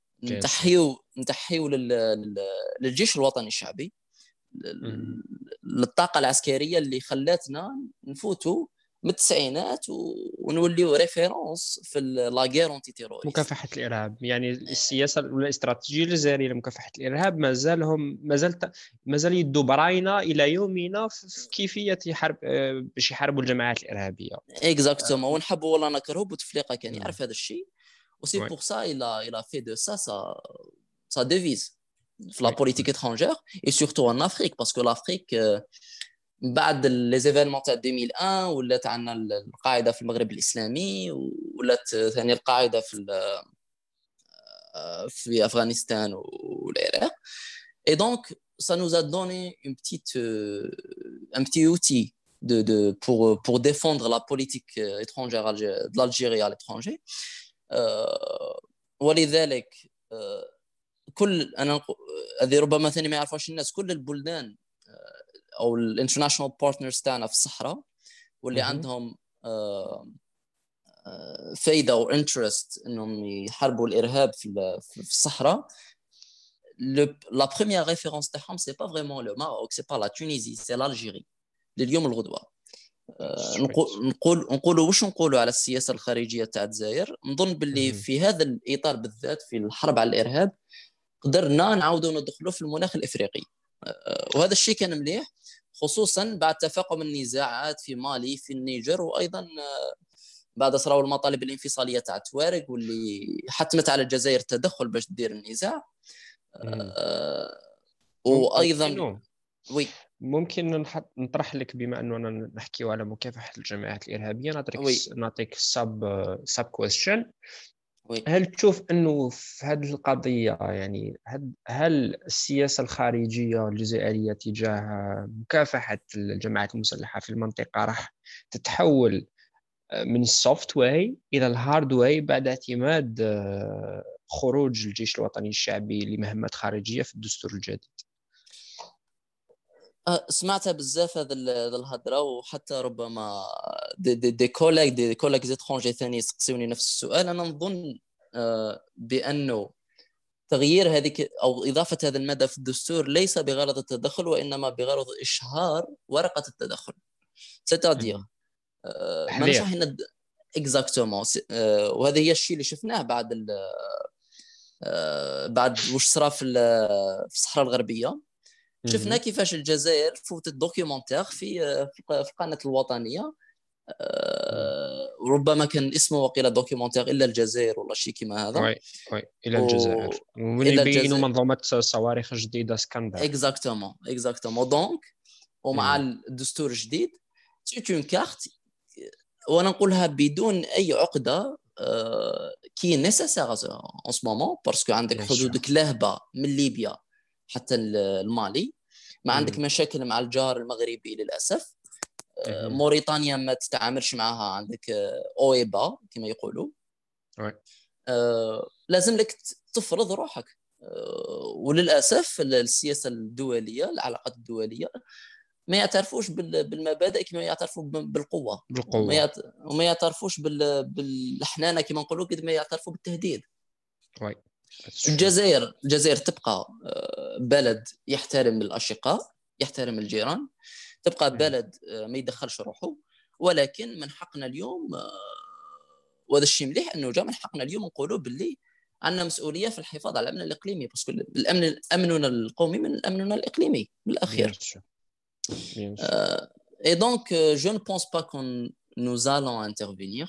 Speaker 2: نتحيو للجيش الوطني الشعبي، للطاقه العسكريه اللي خلاتنا نفوتوا من التسعينات ونوليو ريفيرونس في لاغير انتي تيروريست،
Speaker 1: مكافحة الإرهاب. يعني السياسة الاستراتيجية الجزائرية لمكافحة الإرهاب ما زال يدوا براينا إلى يومنا في كيفية حرب باش يحاربوا الجماعات الإرهابية.
Speaker 2: اكزاكتومون. ونحبوا ولا نكرهوا بوتفليقه كان
Speaker 1: مم.
Speaker 2: يعرف هذا الشيء، وسي
Speaker 1: وي
Speaker 2: بور سا il a fait de ça sa devise في لا
Speaker 1: وي
Speaker 2: بوليتيك étrangère et surtout en Afrique parce que l'Afrique بعد لي زيفينمون تاع 2001 ولات عندنا القاعده في المغرب الاسلامي، ولات ثاني القاعده في افغانستان والعراق. Et donc ça nous a donné un petit outil pour défendre la politique étrangère de l'Algérie à l'étranger. ولذلك كل هذه ربما ثاني ما يعرفوش الناس، كل البلدان او الانترناشونال بارتنرز تاعنا في الصحراء واللي عندهم فايده او انترست انهم يحاربوا الارهاب في الصحراء. la première référence تاعهم c'est pas vraiment le Maroc, c'est pas la Tunisie, c'est l'Algérie لليوم الغدوه. نقولوا واش نقولوا على السياسه الخارجيه تاع الجزائر. نظن باللي في هذا الاطار بالذات في الحرب على الارهاب قدرنا نعاودوا ندخلوا في المناخ الافريقي، وهذا الشيء كان مليح خصوصا بعد تفاقم النزاعات في مالي في النيجر، وايضا بعد صراو المطالب الانفصاليه تاع التوارق واللي حتمت على الجزائر التدخل باش تدير النزاع. وايضا وي
Speaker 1: ممكن نطرح لك، بما اننا نحكيو على مكافحه الجماعات الارهابيه، نعطيك سب كويستشن. هل تشوف انه في هذه القضيه يعني هل السياسه الخارجيه الجزائريه تجاه مكافحه الجماعات المسلحه في المنطقه راح تتحول من السوفت واي الى الهارد واي بعد اعتماد خروج الجيش الوطني الشعبي لمهمات خارجيه في الدستور الجديد؟
Speaker 2: سمعتها بزاف هذا الهضره، وحتى ربما دي كولاج زيترونجي ثاني يسقسوني نفس السؤال. انا نظن بانه تغيير هذيك او اضافه هذا الماده في الدستور ليس بغرض التدخل، وانما بغرض اشهار ورقه التدخل. ستادير ما نشرح ان اكزاكتومون، وهذا هي الشيء اللي شفناه بعد واش صرا في الصحراء الغربيه. شفنا كيفاش الجزائر فوتت دوكيومنتير في القناه الوطنيه، وربما كان اسمه وقيل دوكيومنتير الا الجزائر ولا شيء كيما هذا.
Speaker 1: وي الى الجزائر، ومن يبينوا منظومه صواريخ جديده اسكندر.
Speaker 2: اكزاكتومون دونك ومع الدستور الجديد سيت اون كارت، وانا نقولها بدون اي عقده، كي نيسيسير ان سو مومون باسكو عندك حدودك لاهبه من ليبيا حتى المالي، ما عندك مشاكل مع الجار المغربي للاسف. موريتانيا ما تتعاملش معها، عندك اويبا كما يقولوا. لازم لك تفرض روحك، وللاسف السياسه الدوليه العلاقات الدوليه ما يعترفوش بالمبادئ كما يعترفوا بالقوه، وما يعترفوش بالحنانه كما نقولوا قد ما يعترفوا بالتهديد. الجزائر تبقى بلد يحترم الاشقاء، يحترم الجيران، تبقى بلد ما يدخلش روحه، ولكن من حقنا اليوم، وهذا الشيء مليح انه جا من حقنا اليوم نقولوا باللي عندنا مسؤوليه في الحفاظ على الامن الاقليمي، باسكو الامن امننا القومي من امننا الاقليمي بالاخير. Et donc, je ne pense pas que nous allons intervenir,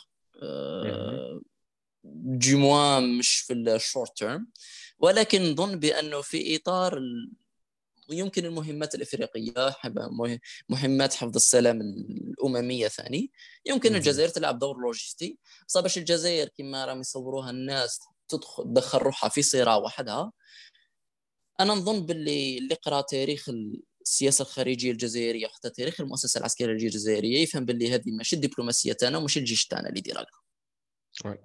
Speaker 2: du moins مش في الشورت تيرم، ولكن نظن بأنه في إطار يمكن المهمات الإفريقية، مهمات حفظ السلام الأممية ثاني، يمكن الجزائر تلعب دور لوجستي. باش الجزائر كما راهم يصوروها الناس تدخل روحها في صراع وحدها. أنا نظن باللي قرأ تاريخ السياسه الخارجيه الجزائريه وحتى تاريخ المؤسسه العسكريه الجزائريه يفهم باللي هذه ماشي الدبلوماسيه تاعنا وماشي الجيش تاعنا اللي يدير هكا.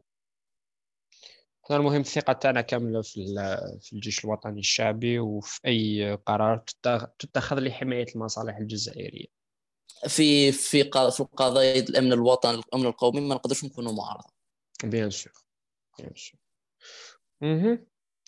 Speaker 1: المهم الثقه تاعنا كامله في الجيش الوطني الشعبي، وفي اي قرار تتخذ لحمايه المصالح الجزائريه.
Speaker 2: في القضايا الامن الوطني الامن القومي ما نقدرش نكونوا معارضه.
Speaker 1: بيان سور بيان سور. اها.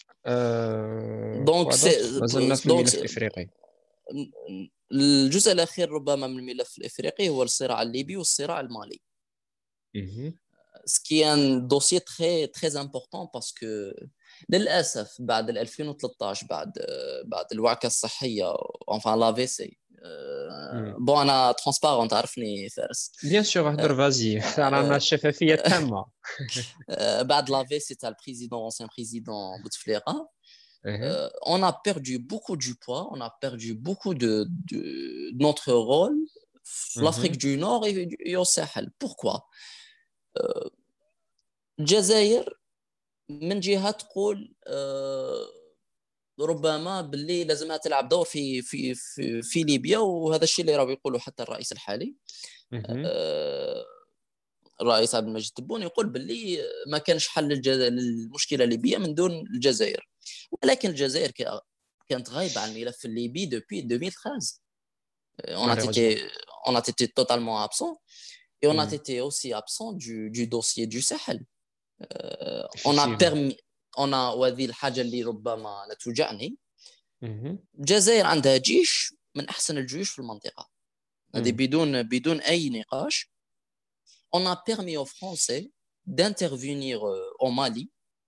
Speaker 2: دونك
Speaker 1: ما زلنا في
Speaker 2: دونك
Speaker 1: الملف الافريقي.
Speaker 2: الجزء الاخير ربما من الملف الافريقي هو الصراع الليبي والصراع المالي.
Speaker 1: اها.
Speaker 2: سكيان دوسيي تري تري امبورطون باسكو للاسف بعد 2013 بعد الوعكه الصحيه اونفان لا في سي. بون انا ترونسبارون تعرفني فارس.
Speaker 1: بيان سور هضر فازي رانا الشفافيه تامه.
Speaker 2: بعد لا في سي تاع البريزيدون انسيان بريزيدون بوتفليقه.
Speaker 1: اها.
Speaker 2: On a perdu beaucoup du poids, on a perdu beaucoup de notre rôle في l'Afrique du Nord et au Sahel. Pourquoi? الجزائر من جهة تقول ربما باللي لازمها تلعب دور في ليبيا، وهذا الشيء اللي راه يقوله حتى الرئيس الحالي الرئيس عبد المجيد تبون يقول باللي ما كانش حل للمشكلة الليبية من دون الجزائر. ولكن الجزائر كانت غايبة عن الملف الليبي depuis 2013. On a été totalement absent et on a été aussi absent du dossier du Sahel. On a وهذه الحاجة اللي ربما لا توجعني. الجزائر عندها جيش من أحسن الجيوش في المنطقة، هذه بدون أي نقاش. On a permis aux Français d'intervenir au Mali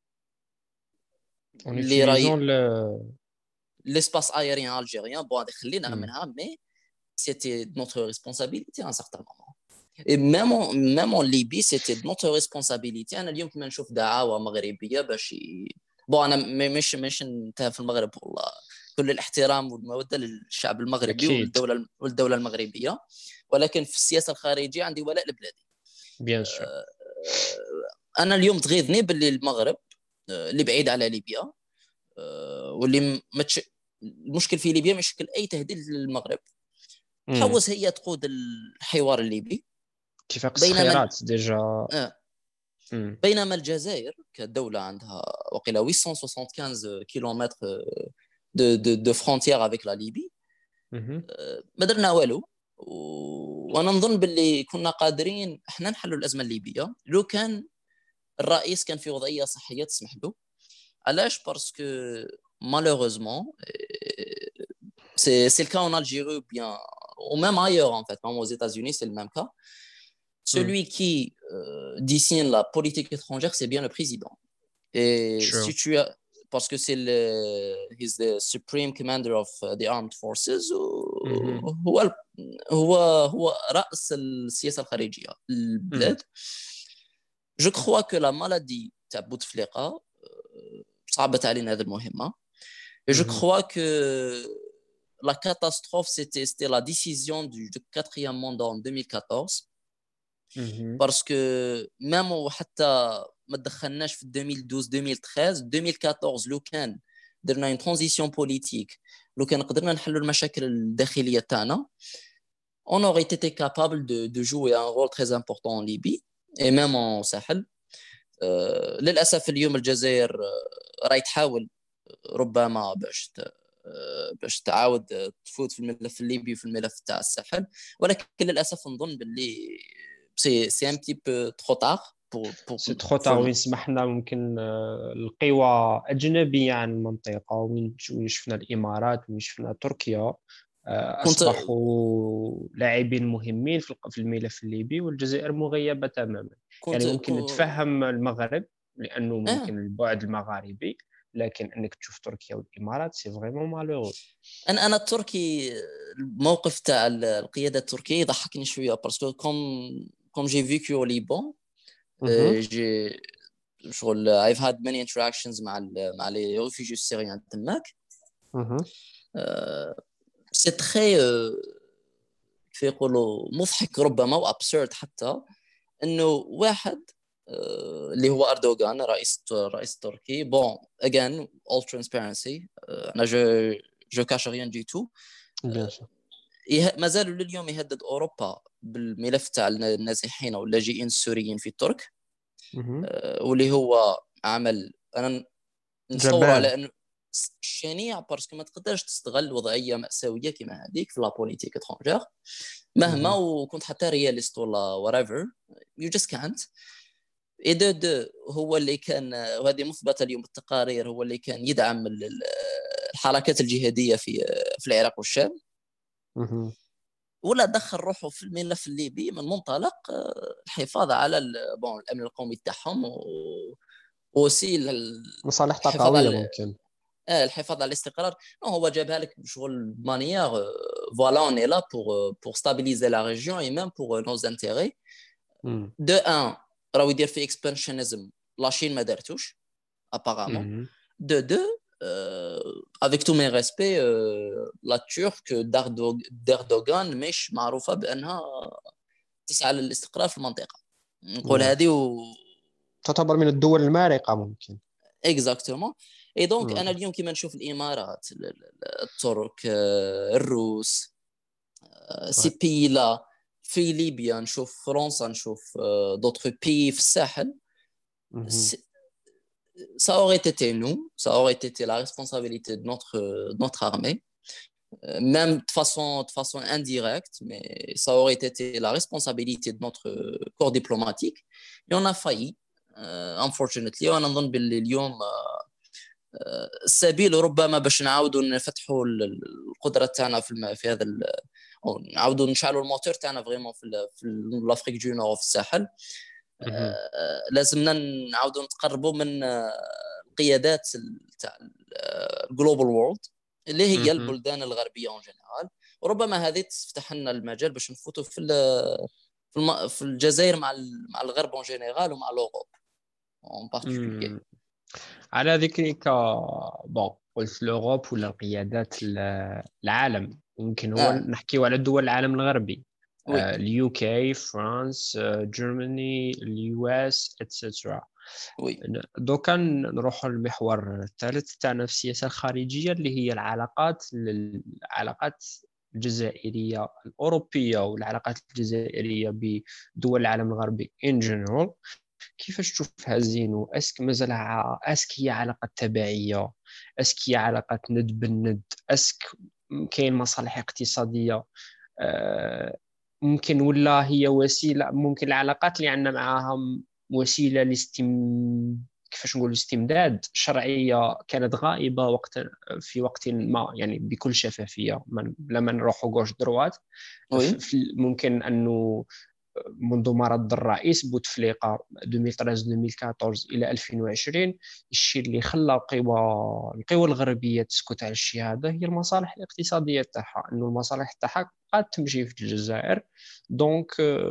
Speaker 1: en utilisant
Speaker 2: l'espace aérien algérien. Bon, هذه خلينا منها mais c'était notre responsabilité à un certain moment. Et même en Libye, c'était de notre responsabilité. أنا اليوم كنا نشوف دعاوى مغربية باش أنا مش انتهى في المغرب والله كل الاحترام والمودة للشعب المغربي والدولة المغربية، ولكن في السياسة الخارجية عندي ولاء لبلادي.
Speaker 1: بيان سور.
Speaker 2: أنا اليوم تغيظني باللي المغرب اللي بعيد على ليبيا واللي المشكل في ليبيا مش يشكل أي تهديد للمغرب، تحوس هي تقود الحوار الليبي
Speaker 1: اتفاق الصخيرات ديجا.
Speaker 2: بينما الجزائر كدولة عندها وقيل 875 كيلومتر دو فرونتيير افيك لا ليبي، ما درنا والو. وانا نظن باللي كنا قادرين احنا نحلوا الازمه الليبيه لو كان الرئيس كان في وضعيه صحيه تسمح له. علاش؟ باسكو malheureusement c'est le cas en Algérie ou bien ou même ailleurs en fait, même aux États-Unis c'est le même cas. Celui qui dessine la politique étrangère c'est bien le président. Et si tu as parce que c'est he's the supreme commander of the armed forces هو رأس السياسة الخارجية البلاد. Je crois que la maladie تاع بوتفليقة صعبت علينا هذه المهمة. Et je crois que la catastrophe c'était la décision du quatrième mandat en 2014. Parce que même وحتى ما دخلناش في 2012 2013 2014 لو كان درنا une transition politique، لو كان قدرنا نحلوا المشاكل الداخلية تاعنا on aurait été capable de jouer un rôle très important en Libye et même en Sahel. للأسف اليوم الجزائر راهي تحاول ربما باش تعاود تفوت في الملف الليبي وفي الملف تاع الساحل، ولكن للأسف نظن باللي سي ان بتي بو ترو تار
Speaker 1: سي ترو تار. وين سمحنا ممكن القوى أجنبية عن المنطقة، وين شفنا الإمارات وين شفنا تركيا أصبحوا لاعبين مهمين في الملف الليبي، والجزائر مغيبة تماما. يعني ممكن نتفهم المغرب لأنه ممكن البعد المغاربي، لكن أنك تشوف تركيا والإمارات سي فريمون مالورو.
Speaker 2: أنا التركي الموقف تاع القيادة التركية يضحكني شوية باسكو comme j'ai vécu au Liban j'ai شغل I've had many interactions مع les réfugiés syriens تماك. c'est très كيف يقولوا مضحك ربما وابسورد حتى انه واحد اللي هو اردوغان رئيس تركي. bon again all transparency انا جو كاش rien du tout ما زالوا لليوم يهدد اوروبا بالملف تاع النازحين او اللاجئين السوريين في الترك واللي هو عمل انا نصور على انه شنيع باسكو ما تقدرش تستغل وضعيه مأساويه كما هذيك في لا بوليتيك اترونجير مهما وكنت حتى رياليست ولا whatever you just can't. اي دو هو اللي كان، وهذه مثبته اليوم بالتقارير، هو اللي كان يدعم الحركات الجهاديه في العراق والشام، ولا دخل روحه في الملف الليبي من منطلق الحفاظ على الامن القومي تاعهم وسي
Speaker 1: مصالح طاقويه ممكن
Speaker 2: الحفاظ على الاستقرار. هو جابها لك بشغل مانيير فوالا اون اي لا بور ستابيليزي لا ريجيون اي ميم بور نوز انتيري. دو ان راهو يدير في اكسبانشنزم لاشين ما دارتوش ابارامون. دو avec tous mes respects la Turque d'Erdogan مش معروفة بأنها تسعى للاستقرار في المنطقة، نقول هذه
Speaker 1: تعتبر من الدول المارقة ممكن.
Speaker 2: اكزاكتومون. اي دونك انا اليوم كيما نشوف الامارات، الترك، الروس، سي بي لا في ليبيا، نشوف فرنسا، نشوف دوطخ بي في الساحل، ça aurait été nous, ça aurait été la responsabilité de notre armée, même de façon indirecte, mais ça aurait été la responsabilité de notre corps diplomatique. Et on a failli, unfortunately. وانا نظن باللي اليوم السبيل ربما باش نعاودوا نفتحوا القدره تاعنا في هذا او نعاودوا نشعلوا الموتور تاعنا فريمون في لافريك دو نور في الساحل. لازمنا نعاودوا نتقربوا من القيادات تاع الجلوبال وورلد اللي هي البلدان الغربيه اون جينيرال، وربما هذه تفتح لنا المجال باش نفوتوا في الجزائر مع الغرب اون جينيرال ومع لوروب اون بارتيكولير.
Speaker 1: على ذكرك بون قلت لوروب ولا القيادات العالم، يمكن هو نحكيو على دول العالم الغربي، اليو كي، فرانس، جيرماني، اليو اس اتسيتيرا. دوكا نروحوا للمحور الثالث تاعنا في السياسه الخارجيه اللي هي العلاقات الجزائرية الأوروبية والعلاقات الجزائرية بدول العالم الغربي in general. كيفاش تشوفها زينو؟ اسك مازالها اسك هي علاقة تبعية، اسك هي علاقة ند بالند، اسك كاين مصالح اقتصادية ممكن، ولا هي وسيلة؟ ممكن العلاقات اللي عندنا معها وسيلة كيفاش نقول استمداد شرعية كانت غائبة في وقت ما، يعني بكل شفافية لما نروحوا غوش دروات. ممكن أنه منذ مرض الرئيس بوتفليقة 2013-2014 إلى 2020 الشيء اللي خلى القوى الغربية تسكت على الشيء هذا هي المصالح الاقتصادية تاعها، أنه المصالح تاعها قد تمشي في الجزائر، دونك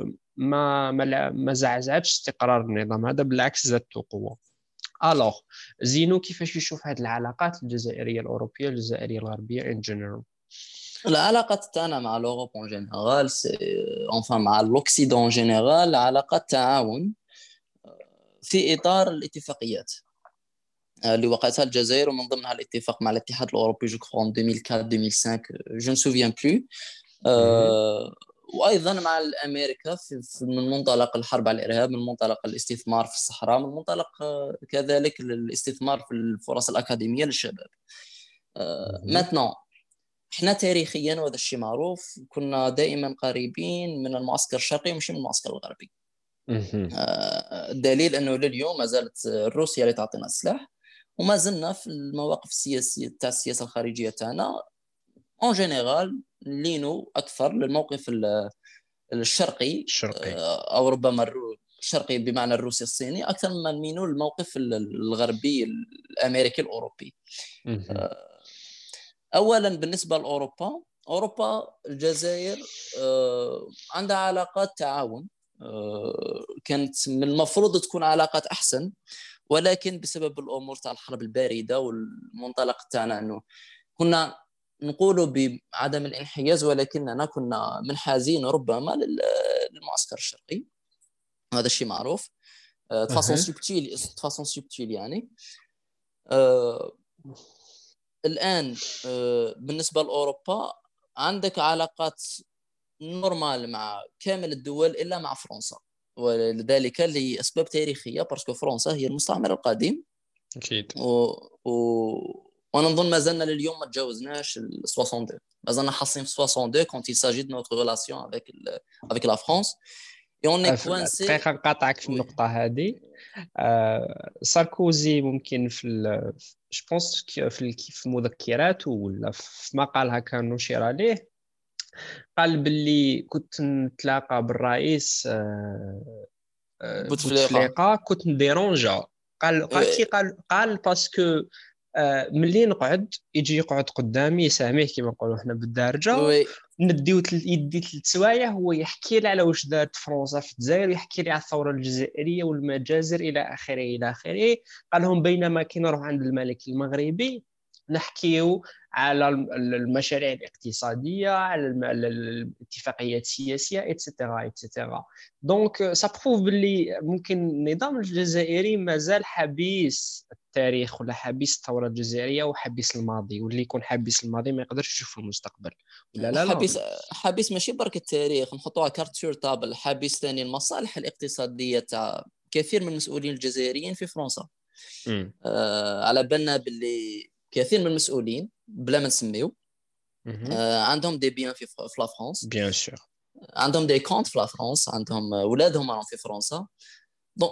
Speaker 1: ما زعزعتش استقرار النظام هذا، بالعكس زادته قوة. الوغ زينو كيفاش يشوف هذه العلاقات الجزائرية الأوروبية الجزائرية الغربية in general؟
Speaker 2: العلاقة تاعنا مع الأوروب en général enfin مع الأوكسيدون en général علاقة تعاون في إطار الاتفاقيات اللي وقعتها الجزائر، ومن ضمنها الاتفاق مع الاتحاد الأوروبي جو كخوا en 2004-2005 je ne souviens plus. وايضا مع الامريكا من منطلق الحرب على الارهاب، من منطلق الاستثمار في الصحراء، من منطلق كذلك الاستثمار في الفرص الاكاديميه للشباب. ماتنون احنا تاريخيا وهذا الشيء معروف كنا دائما قريبين من المعسكر الشرقي مش من المعسكر الغربي. الدليل انه لليوم ما زالت روسيا اللي تعطينا السلاح، وما زلنا في المواقف السياسيه تاع السياسه الخارجيه تاعنا اون جينيرال لينو اكثر للموقف الشرقي او ربما الشرقي بمعنى الروسي الصيني اكثر مما نمينوا الموقف الغربي الامريكي الاوروبي. اولا بالنسبه لاوروبا، الجزائر عندها علاقات تعاون كانت من المفروض تكون علاقات احسن، ولكن بسبب الامور تاع الحرب البارده والمنطلق تاعنا انه كنا نقولوا بعدم الانحياز ولكننا كنا منحازين ربما للمعسكر الشرقي، هذا الشيء معروف تفاصيل سبتيل يعني. الآن بالنسبة لأوروبا عندك علاقات نورمال مع كامل الدول إلا مع فرنسا، ولذلك لأسباب تاريخية، باسكو فرنسا هي المستعمر القديم
Speaker 1: أكيد،
Speaker 2: وانا نظن ما زلنا لليوم ما تجاوزناش ال 62 ما زلنا حاصلين في 62 quand il s'agit de notre relation avec la France et on est coincé.
Speaker 1: دقيقة نقاطعك في
Speaker 2: oui
Speaker 1: النقطة هذه. ساركوزي ممكن جو بونس في المذكرات ولا في مقال هكا نشر عليه، قال باللي كنت نتلاقى بالرئيس
Speaker 2: بوتفليقه.
Speaker 1: بوتفليقه كنت نديرونجا. قال كي قال باسكو ملي نقعد يجي يقعد قدامي يساميه كما نقولوا حنا بالدارجه،
Speaker 2: وي
Speaker 1: نديو يدي 3 سوايع هو يحكي لي على واش دارت فرنسا في الجزائر، ويحكي لي على الثوره الجزائريه والمجازر الى اخره الى اخره. قال لهم بينما كي نروح عند الملك المغربي نحكيو على المشاريع الاقتصاديه، على الاتفاقيات السياسيه اتسيتيرا اتسيتيرا. دونك سا بروف باللي ممكن النظام الجزائري مازال حبيس التاريخ ولا حبيس الثوره الجزائريه وحبيس الماضي، واللي يكون حبيس الماضي ما يقدرش يشوف المستقبل. ولا لا لا.
Speaker 2: حبيس ماشي برك التاريخ نحطوها كارت سور طابل، حبيس ثاني المصالح الاقتصاديه تاع كثير من المسؤولين الجزائريين في فرنسا. على بالنا باللي كثير من المسؤولين بلا ما نسميو عندهم دي بيان في لا فرنسا،
Speaker 1: بيان سور
Speaker 2: عندهم دي كونت في لا فرنسا، عندهم ولادهم راهم في فرنسا. دونك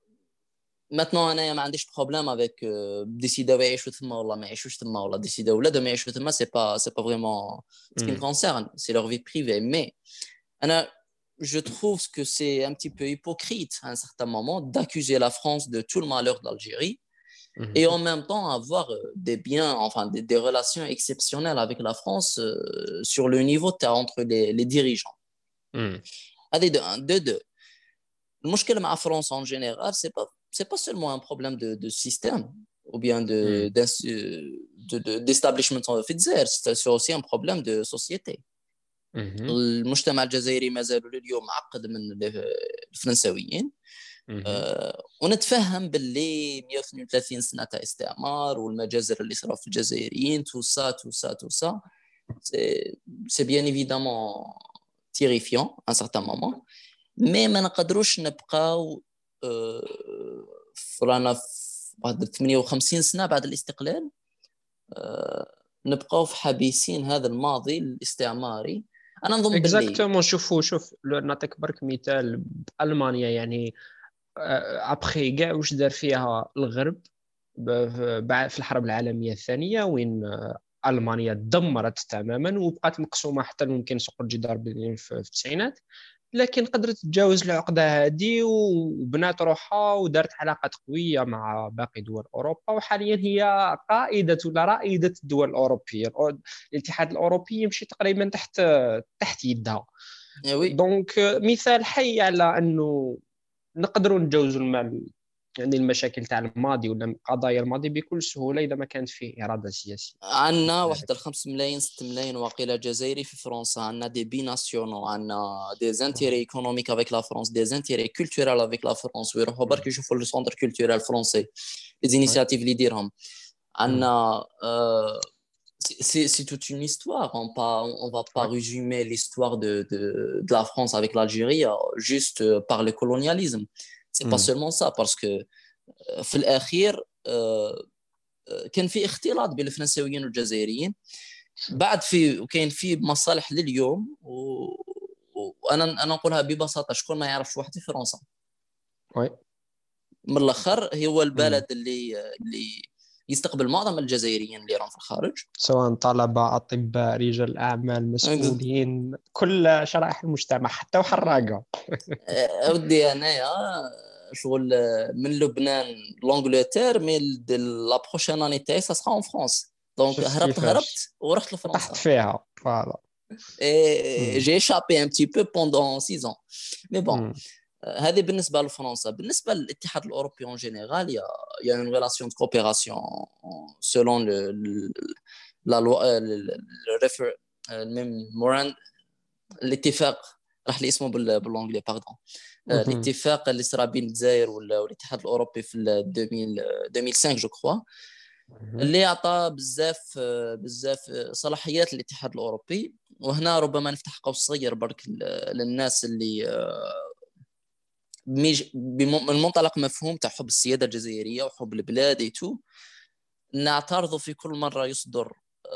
Speaker 2: ماتنو انايا ما عنديش بروبليم افيك ديسيداو يعيشوا تما ولا ما يعيشوش تما، ولا ديسيداو ولادهم يعيشوا تما، سي با فريمون سكي me concerne, c'est leur vie privée. Mais انا je trouve que c'est un petit peu hypocrite à un certain moment d'accuser la France de tout le malheur d'Algérie et en même temps avoir des biens, enfin des relations exceptionnelles avec la France sur le niveau entre les dirigeants. هذه de un. De deux, المشكلة مع فرنسا en général, c'est pas seulement un problème de système ou bien d'establishment في الجزائر, c'est aussi un problème de société. المجتمع الجزائري ما زالوا لليوم معقد من الفرنساويين. ونتفهم باللي 132 سنة تاع استعمار والمجازر اللي صاروا في الجزائريين تو سا c'est bien évidemment terrifiant à un certain moment, mais ما نقدروش نبقاو رانا بعد 58 سنة بعد الاستقلال نبقاو في حبيسين هذا الماضي الاستعماري. انا نظن
Speaker 1: باللي شوف نعطيك برك مثال بألمانيا. يعني ابخي كاع واش دار فيها الغرب في الحرب العالميه الثانيه، وين المانيا دمرت تماما وبقات مقسومه حتى ممكن سوق الجدار في التسعينات، لكن قدرت تتجاوز العقده هذه وبنات روحها ودارت علاقات قويه مع باقي دول اوروبا، وحاليا هي قائده ولا رائده الدول الاوروبيه. الاتحاد الاوروبي يمشي تقريبا تحت يدها. دونك مثال حي على انه نقدروا نتجاوزوا يعني المشاكل تاع الماضي ولا قضايا الماضي بكل سهوله اذا ما كانت فيه اراده سياسيه.
Speaker 2: عندنا واحد 5 ملايين 6 ملايين واقيلا جزائري في فرنسا، عندنا دي بي ناسيونال، عندنا دي زانتيري ايكونوميك افيك لا فرنسا، دي زانتيري كولتورال افيك لا فرنسا، ويروحوا برك يشوفوا لو سونتر كولتورال فرونسي لي انيشياتيف اللي يديرهم. عندنا c'est toute une histoire. On va pas résumer l'histoire de la France avec l'Algérie juste par le colonialisme. C'est pas seulement ça, parce que في الأخير كان في اختلاط بين الفرنساويين والجزائريين بعد وكاين في مصالح لليوم وانا نقولها ببساطه، شكون ما يعرفش واحد في فرنسا من الاخر هو البلد اللي يستقبل معظم الجزائريين اللي راهم في الخارج،
Speaker 1: سواء طلبه، اطباء، رجال اعمال، مسؤولين، كل شرائح المجتمع، حتى وحراقه.
Speaker 2: اودي انايا شغل من لبنان لانجلتير، مي لا بروشين اني تاعي سا سرا اون فرانس. دونك هربت ورحت لفرنسا،
Speaker 1: طحت فيها. فوالا
Speaker 2: جي ايشابي ان بتي بو بوندون 6 ans. مي بون هذه بالنسبه لفرنسا. بالنسبه للاتحاد الاوروبي اون جينيرال يا اون ريلاسيون دو كوبيراسيون سولون لا لوا الميموران الاتفاق راح لي اسمه بالانجلي باردون. الاتفاق اللي صرا بين الجزائر والاتحاد الاوروبي في 2005 جو كخوا، اللي عطى بزاف صلاحيات للاتحاد الاوروبي. وهنا ربما نفتح قوس صغير برك للناس اللي من منطلق مفهوم تاع حب السياده الجزائريه وحب البلاد ايتو. نعترضوا في كل مرة يصدر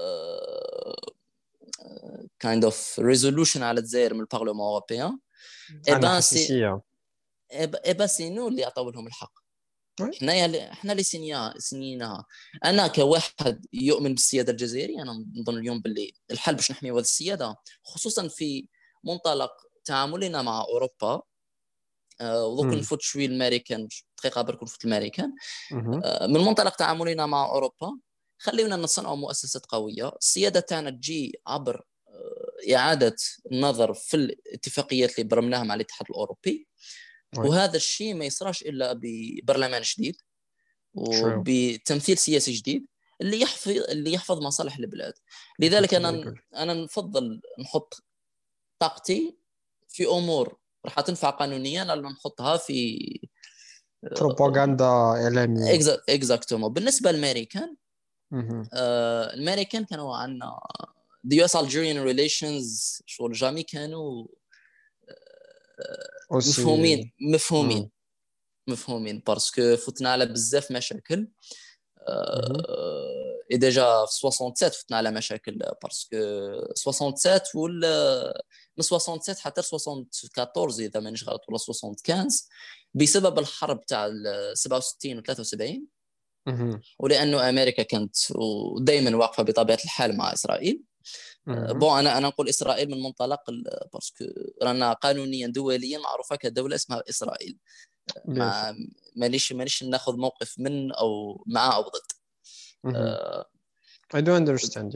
Speaker 2: kind of resolution على الجزائر من البرلمان الأوروبي.
Speaker 1: عندنا حساسية.
Speaker 2: سي نو اللي عطوا لهم الحق.
Speaker 1: وي.
Speaker 2: احنا اللي سنيناها. انا كواحد يؤمن بالسياده الجزائريه، انا نظن اليوم باللي الحل باش نحميو هذه السياده، خصوصا في منطلق تعاملنا مع اوروبا. ودوك نفوت شويه الامريكان دقيقه برك نفوت الامريكان. من منطلق تعاملنا مع اوروبا، خلينا نصنعوا مؤسسات قويه. السياده تاعنا تجي عبر اعاده النظر في الاتفاقيات اللي برمناها مع الاتحاد الاوروبي. وهذا الشيء ما يصراش الا ببرلمان جديد وبتمثيل سياسي جديد اللي يحفظ مصالح البلاد. لذلك انا نفضل نحط طاقتي في امور راح تنفع قانونيا، الا نحطها في
Speaker 1: بروباغندا اعلاميه.
Speaker 2: اكزاكتومون. بالنسبه للامريكان، الامريكان كانوا عندنا the US Algerian relations شغل جامي كانوا مفهومين باسكو فتنا على بزاف مشاكل. اي ديجا في 67 فتنا على مشاكل باسكو 67 ولا من 67 حتى 74 اذا مانيش غلط ولا 75 بسبب الحرب تاع 67 و 73. ولانه امريكا كانت ودائما واقفه بطبيعه الحال مع اسرائيل. بون انا نقول اسرائيل من منطلق باسكو رانا قانونيا دوليا معروفه كدوله اسمها اسرائيل. مانيش ناخذ موقف من او مع او ضد.
Speaker 1: I do understand.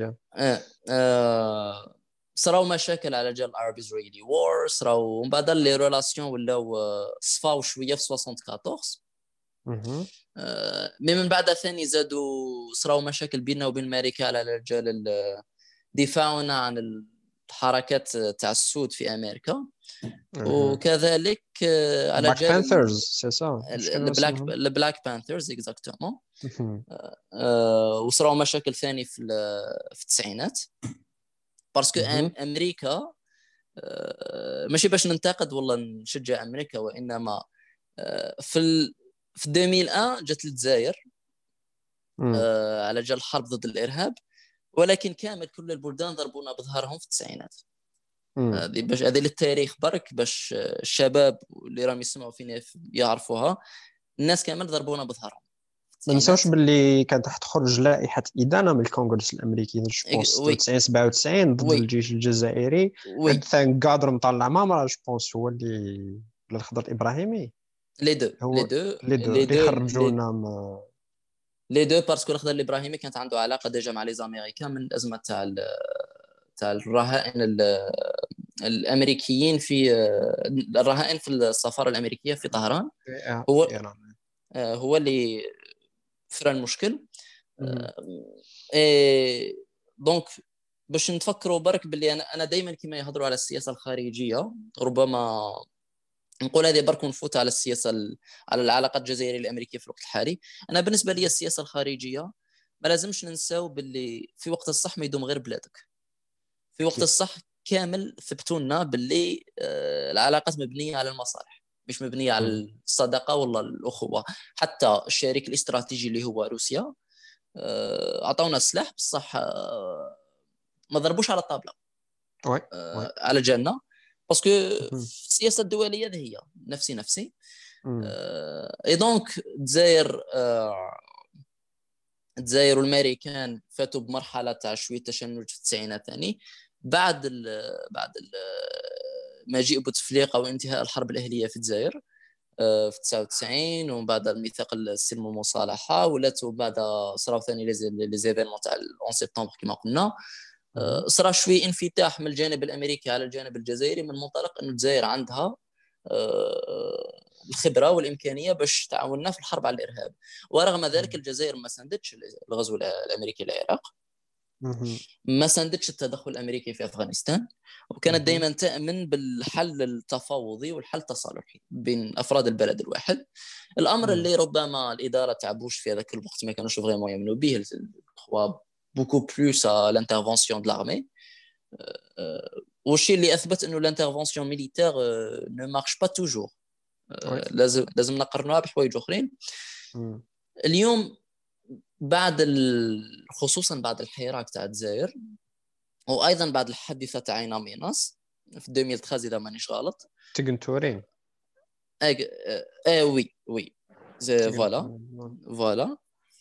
Speaker 2: صراو مشاكل على جال العرب اسرائيلي وور، صراو من بعد لي ريلاسيون ولاو صفاو شويه في 74. مي من بعد ثاني زادوا صراو مشاكل بيننا وبين امريكا على رجال دفاعنا عن الحركات تاع السود في امريكا. وكذلك على
Speaker 1: Black Panthers سي سا
Speaker 2: البلاك بانثرز اكزاكتومون. وصراو مشاكل ثاني في التسعينات باسكو امريكا ماشي باش ننتقد والله نشجع امريكا، وانما في 2001 جات للجزائر على جال الحرب ضد الارهاب، ولكن كامل كل البلدان ضربونا بظهرهم في التسعينات. هذه للتاريخ برك باش الشباب اللي راهم يسمعوا فينا يعرفوها. الناس كامل ضربونا بظهرهم.
Speaker 1: ما ننساوش باللي كانت تخرج لائحه ادانه من الكونغرس الامريكي جو بونس 96 97 ضد الجيش الجزائري. هاد ثانك قادر مطلع مامرا جو بونس هو اللي الخضر الابراهيمي
Speaker 2: لي دو
Speaker 1: اللي خرجونا
Speaker 2: لي دو باسكو الخضر الابراهيمي كانت عنده علاقه ديجا مع لي زاميريكان من الازمه تاع الرهائن الامريكيين في الرهائن في السفاره الامريكيه في طهران. هو اللي فرا المشكل. دونك باش نتفكروا برك باللي انا دائما كما يهضروا على السياسه الخارجيه، ربما نقول هذه برك نفوت على السياسه على العلاقات الجزائريه الامريكيه في الوقت الحالي. انا بالنسبه لي السياسه الخارجيه ما لازمش ننساو باللي في وقت الصح ما يدوم غير بلادك. في وقت الصح كامل ثبتوا لنا باللي العلاقات مبنيه على المصالح مش مبنيه على الصداقه ولا الاخوه. حتى الشريك الاستراتيجي اللي هو روسيا عطاونا السلاح بصح ما ضربوش على الطاوله على جالنا باسكو السياسه الدوليه هذه هي نفسي اي دونك الجزائر والامريكان فاتوا بمرحله تاع شويه تشنج في التسعينات ثاني بعد مجيء بوتفليقه وانتهاء الحرب الاهليه في الجزائر في 99. ومن بعد الميثاق السلم والمصالحه ولات بعد صراو ثاني لي زيفينمون تاع 11 سبتمبر كما قلنا. صرا شوي انفتاح من الجانب الامريكي على الجانب الجزائري من منطلق انه الجزائر عندها الخبره والامكانيه باش تعاوننا في الحرب على الارهاب. ورغم ذلك الجزائر ما ساندتش الغزو الامريكي للعراق، ما ساندتش التدخل الامريكي في افغانستان، وكانت دائما تامن بالحل التفاوضي والحل التصالحي بين افراد البلد الواحد. الامر اللي ربما الاداره تاع بوش في هذاك الوقت ما كانوش فريمون يؤمنوا به، هو بوكو بلوس لانترفونسيون د لارمي. والشيء اللي اثبت انه لانترفونسيون ميليتير نو مارش با توجور. لازم نقارنوها بحوايج اخرين. اليوم خصوصا بعد الحراك تاع الجزائر، وايضا بعد الحادثه تاع عين ميناس في 2013 اذا مانيش غلط.
Speaker 1: تقنتورين.
Speaker 2: وي وي فوالا
Speaker 1: تقنتورين.
Speaker 2: فوالا.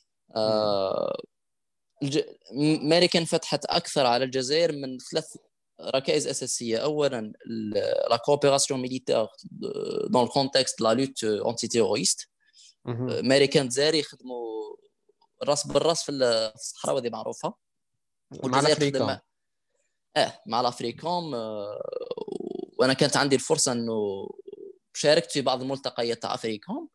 Speaker 2: ماريكان فتحت اكثر على الجزائر من 3 ركائز اساسيه. اولا لا كوبيراسيون ميليتير دون الكونتكست لا لوت انتي تيروريست. ماريكان الجزائر يخدموا راس بالراس في الصحراء، وهذه معروفه.
Speaker 1: مع
Speaker 2: والجزائر تخدم
Speaker 1: الافريكان.
Speaker 2: مع الافريكوم. وانا كانت عندي الفرصه انه شاركت في بعض الملتقيات تاع افريكوم.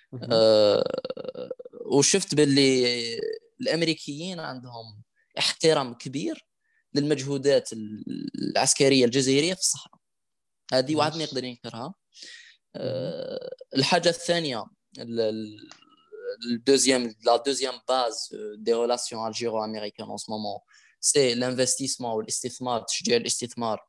Speaker 2: وشفت باللي الامريكيين عندهم احترام كبير للمجهودات العسكريه الجزائريه في الصحراء. هذه واحد ما يقدر ينكرها. الحاجه الثانيه، la deuxième base des relations algéro-américaines en ce moment, c'est l'investissement والاستثمار، تشجيع الاستثمار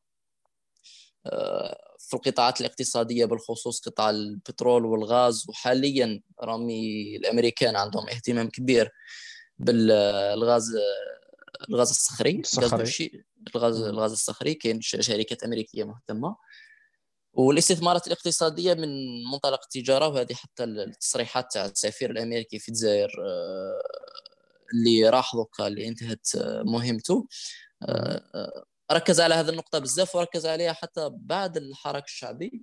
Speaker 2: في القطاعات الاقتصادية، بالخصوص قطاع البترول والغاز. وحاليا رامي الأمريكان عندهم اهتمام كبير بالغاز، الغاز الصخري، الغاز الصخري. كاين شركات أمريكية مهتمة. والاستثمارات الاقتصادية من منطلق التجارة، وهذه حتى التصريحات تاع السفير الأمريكي في الجزائر اللي راح دوكا اللي انتهت مهمته، ركز على هذه النقطة بزاف، وركز عليها حتى بعد الحراك الشعبي،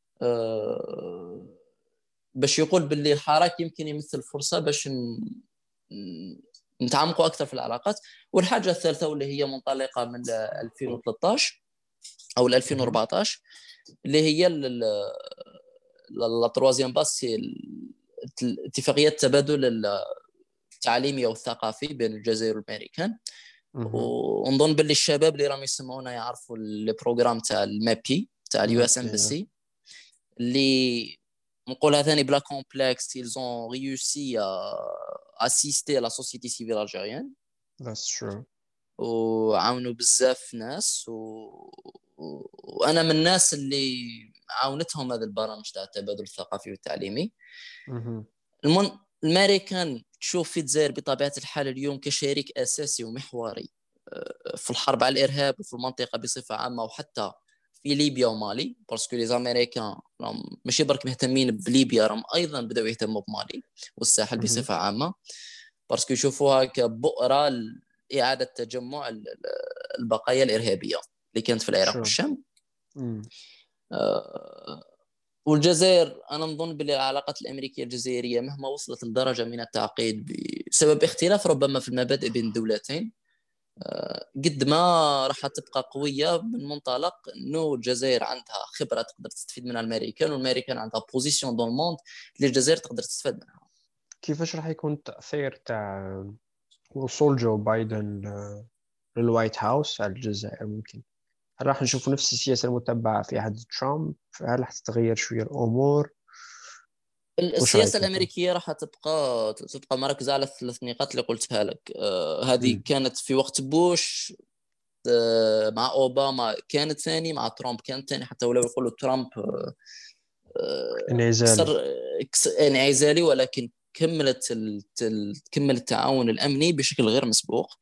Speaker 2: باش يقول باللي الحراك يمكن يمثل فرصة باش نتعمقوا أكثر في العلاقات. والحاجة الثالثة واللي هي منطلقة من 2013 أو 2014، اللي هي لا تروازيام باس، اتفاقية تبادل التعليمي او الثقافي بين الجزائر والامريكان. ونظن باللي الشباب اللي راهم يسمعونا يعرفوا البروغرام تاع المابي تاع اليو اس امباسي، اللي نقولها ثاني بلا كومبلكس. ils ont réussi à assister la société civile algérienne.
Speaker 1: That's true.
Speaker 2: وعاونوا بزاف ناس وانا من الناس اللي عاونتهم هذه البرامج تاع التبادل الثقافي والتعليمي. الامريكان تشوف في الجزائر بطبيعه الحال اليوم كشريك اساسي ومحوري في الحرب على الارهاب وفي المنطقه بصفه عامه، وحتى في ليبيا ومالي. باسكو لي زاميريكان ماشي برك مهتمين بليبيا، راهم ايضا بداوا يهتموا بمالي والساحل بصفه عامه، باسكو يشوفوها كبؤره لاعاده تجمع البقايا الارهابيه اللي كانت في العراق والشام. والجزائر انا نظن باللي العلاقات الامريكيه الجزائريه مهما وصلت لدرجه من التعقيد بسبب اختلاف ربما في المبادئ بين الدولتين، قد ما راح تبقى قويه من منطلق انه الجزائر عندها خبره تقدر تستفيد منها الامريكان، والامريكان عندها بوزيشن دون الموند اللي الجزائر تقدر تستفاد منها.
Speaker 1: كيفاش راح يكون التاثير تاع وصول جو بايدن للوايت هاوس على الجزائر؟ ممكن هل راح نشوف نفس السياسة المتبعة في عهد ترامب؟ هل راح تتغير شوية الأمور؟
Speaker 2: السياسة الأمريكية راح تبقى مركزة على الثلاث نقاط اللي قلتها لك. هذه كانت في وقت بوش، مع أوباما كانت ثاني، مع ترامب كانت ثاني. حتى ولو يقولوا ترامب انعزالي، ولكن كمل التعاون الأمني بشكل غير مسبوق.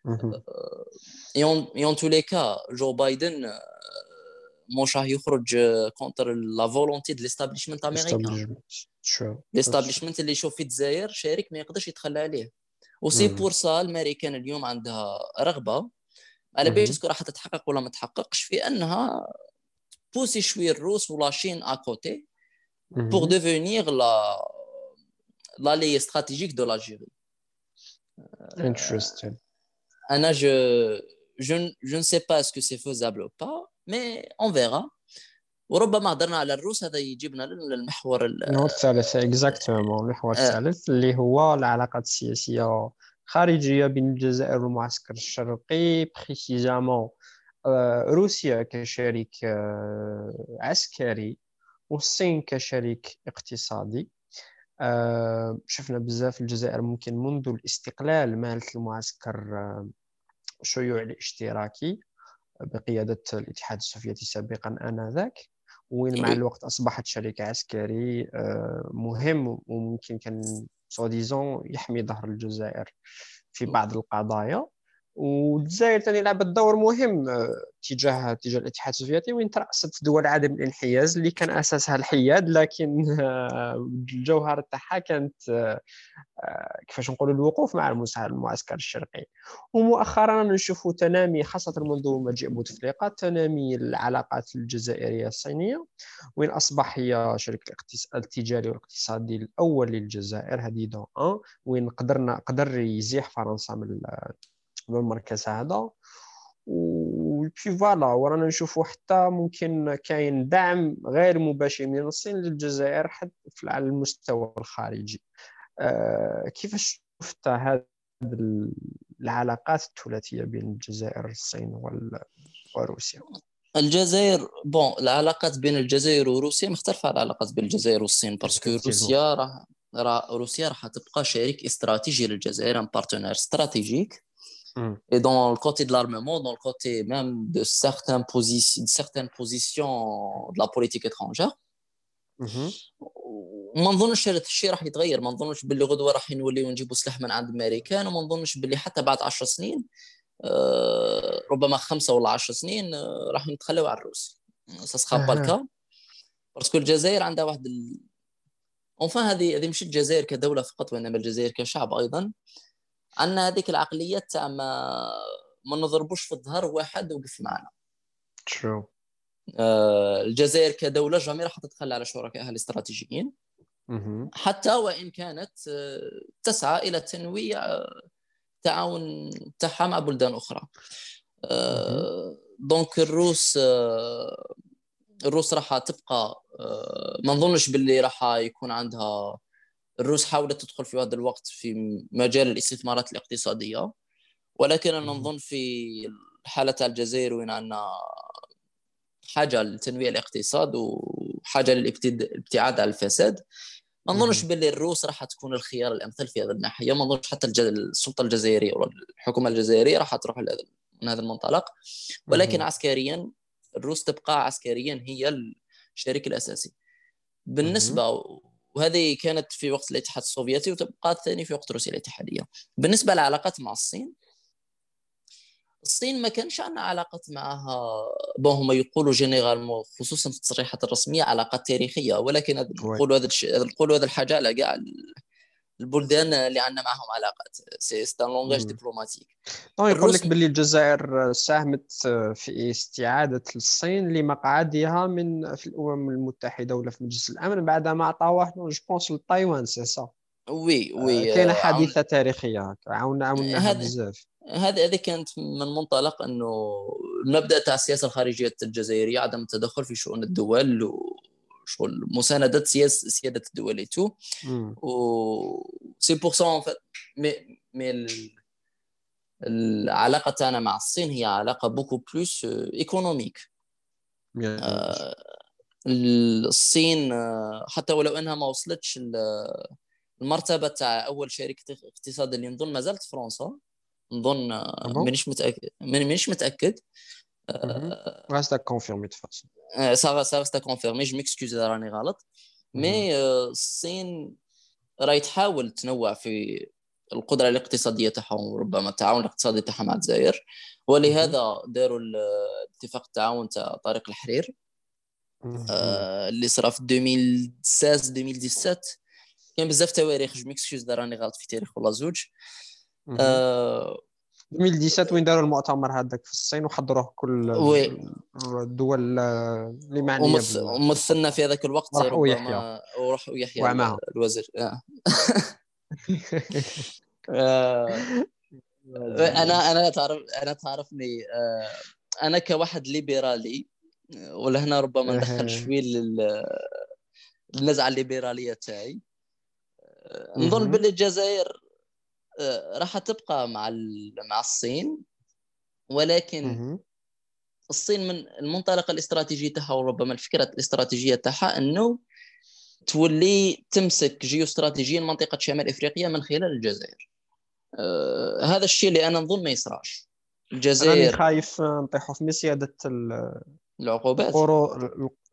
Speaker 2: يون توليكا جو بايدن مش راح يخرج كونتر لا فولونتي دو ليستابليشمنت امريكان. ليستابليشمنت اللي يشوف في الجزائر شريك ما يقدرش يتخلى عليه. وسي بور سا الامريكان اليوم عندها رغبه، على بالك راح تتحقق ولا ما تحققش، في انها بوسي شويه الروس ولا شين اكوتي بور ديفينير لا لي استراتيجيك دو لاجيري.
Speaker 1: Interesting.
Speaker 2: انا je ne sais pas est-ce que c'est faisable ou pas, mais on verra. وربما هضرنا على الروس، هذا يجيبنا للمحور
Speaker 1: الثالث اكزاكتومون، المحور الثالث اللي هو العلاقات السياسية خارجية بين الجزائر والمعسكر الشرقي، بريسيزامون روسيا كشريك عسكري والصين كشريك اقتصادي. شفنا بزاف الجزائر ممكن منذ الاستقلال مالت المعسكر الشيوعي الاشتراكي بقيادة الاتحاد السوفيتي سابقا آنذاك، وين مع الوقت أصبحت شريك عسكري مهم، وممكن كان سوا ديزون يحمي ظهر الجزائر في بعض القضايا. والجزائر ثاني لعبت دور مهم تجاه الاتحاد السوفيتي، وين ترأست دول عدم الانحياز اللي كان اساسها الحياد، لكن الجوهر تاعها كانت كيفاش نقولوا الوقوف مع المعسكر الشرقي. ومؤخرا نشوف تنامي خاصة منذ مجيء بوتفليقة تنامي العلاقات الجزائرية الصينية، وين أصبح هي شريك التجاري والاقتصادي الأول للجزائر، هذه دون أن، وين قدر يزيح فرنسا من المركز هذا. وفي فوالا ورانا نشوفوا حتى ممكن كاين دعم غير مباشر من الصين للجزائر حتى على المستوى الخارجي. كيفاش شفت هذه العلاقات الثلاثية بين الجزائر والصين وروسيا؟
Speaker 2: الجزائر بون، العلاقات بين الجزائر وروسيا مختلفة عن العلاقات بين الجزائر والصين، باسكو روسيا راح تبقى شريك استراتيجي للجزائر، ان بارتنير استراتيجيك. Et dans le côté de l'armement, dans le côté même de certaines positions de la politique étrangère. وما نظنش هذا الشيء راح يتغير. ما نظنش باللي غدوه راح نوليو نجيبوا سلاح من عند الامريكان، وما نظنش باللي حتى بعد 10 سنين ربما 5 ولا 10 سنين راح نتخلوا عن الروس. ساسخا با الكا، باسكو الجزائر عندها واحد اونفان هذه مش الجزائر كدوله فقط، وانما الجزائر كشعب ايضا. عندنا هذيك العقليه تاع ما نضربوش في الظهر واحد وقف معنا.
Speaker 1: شو
Speaker 2: الجزائر كدوله جامي راح تتخلى على شركائها الاستراتيجيين، حتى وان كانت تسعى الى تنويع تعاون تاعها مع بلدان اخرى. دونك الروس راح تبقى ما نظنش باللي راح يكون عندها. الروس حاولت تدخل في هذا الوقت في مجال الاستثمارات الاقتصادية، ولكن أنا نظن في حالة الجزائر وين عندنا حاجة لتنويع الاقتصاد وحاجة للابتعاد عن الفساد، ما نظنش باللي الروس راح تكون الخيار الأمثل في هذه الناحية. ما نظنش حتى السلطة الجزائرية ولا الحكومة الجزائرية راح تروح من هذا المنطلق. ولكن عسكريا الروس تبقى عسكريا هي الشريك الأساسي بالنسبة، وهذه كانت في وقت الاتحاد السوفيتي وتبقى الثاني في وقت روسيا الاتحادية. بالنسبة للعلاقات مع الصين ما كانش عندنا علاقات معها بون، هم يقولوا جينيرالمون خصوصا في التصريحات الرسمية علاقات تاريخية، ولكن نقولوا هذا الحاجة على كاع البلدان اللي عندنا معهم علاقات، سي ان لونغاج دبلوماتيك.
Speaker 1: يقول لك باللي الجزائر ساهمت في استعادة الصين لمقعدها في الأمم المتحدة ولا في مجلس الأمن بعدما أعطاوه جو بونس لتايوان، سي سا.
Speaker 2: وي
Speaker 1: كاينه حادثة تاريخية عاوناها بزاف.
Speaker 2: هذه كانت من منطلق انه المبدا تاع السياسه الخارجيه الجزائريه عدم التدخل في شؤون الدول وشغل مسانده سياده الدول تو و سي بور سون مي العلاقه تاعنا مع الصين هي علاقه بوكو بلوس ايكونوميك. الصين حتى ولو انها ما وصلتش المرتبه تاع اول شريك اقتصادي اللي نظن ما زالت فرنسا، نظن مانيش متاكد.
Speaker 1: راستا كونفيرمي تفاصيل
Speaker 2: سا كونفيرمي، جو ميكسكوز اذا راني غلط. مي الصين راهي تحاول تنوع في القدره الاقتصاديه تاعها وربما التعاون الاقتصادي تاعها مع الجزائر، ولهذا داروا الاتفاق التعاون تاع طريق الحرير اللي صرا في 2016 2017. كاين بزاف تواريخ، جو ميكسكوز اذا راني غلط في تاريخ ولا زوج.
Speaker 1: 2017 وين داروا المؤتمر هذاك في الصين وحضروه كل الدول اللي معنيه
Speaker 2: ومثلنا في هذاك الوقت ربما وراح يحيى الوزير. انا تعرفني انا كواحد ليبرالي، ولا هنا ربما ندخل شوي للنزعه الليبراليه تاعي. نظن باللي الجزائر راح تبقى مع الصين، ولكن الصين من المنطلق الاستراتيجي تاعها وربما الفكره الاستراتيجيه تاعها انه تولي تمسك جيوستراتيجيا منطقه شمال افريقيا من خلال الجزائر. هذا الشيء اللي انا نظن ما
Speaker 1: يصراش. الجزائر راني خايف نطيحوا في مسياده
Speaker 2: العقوبات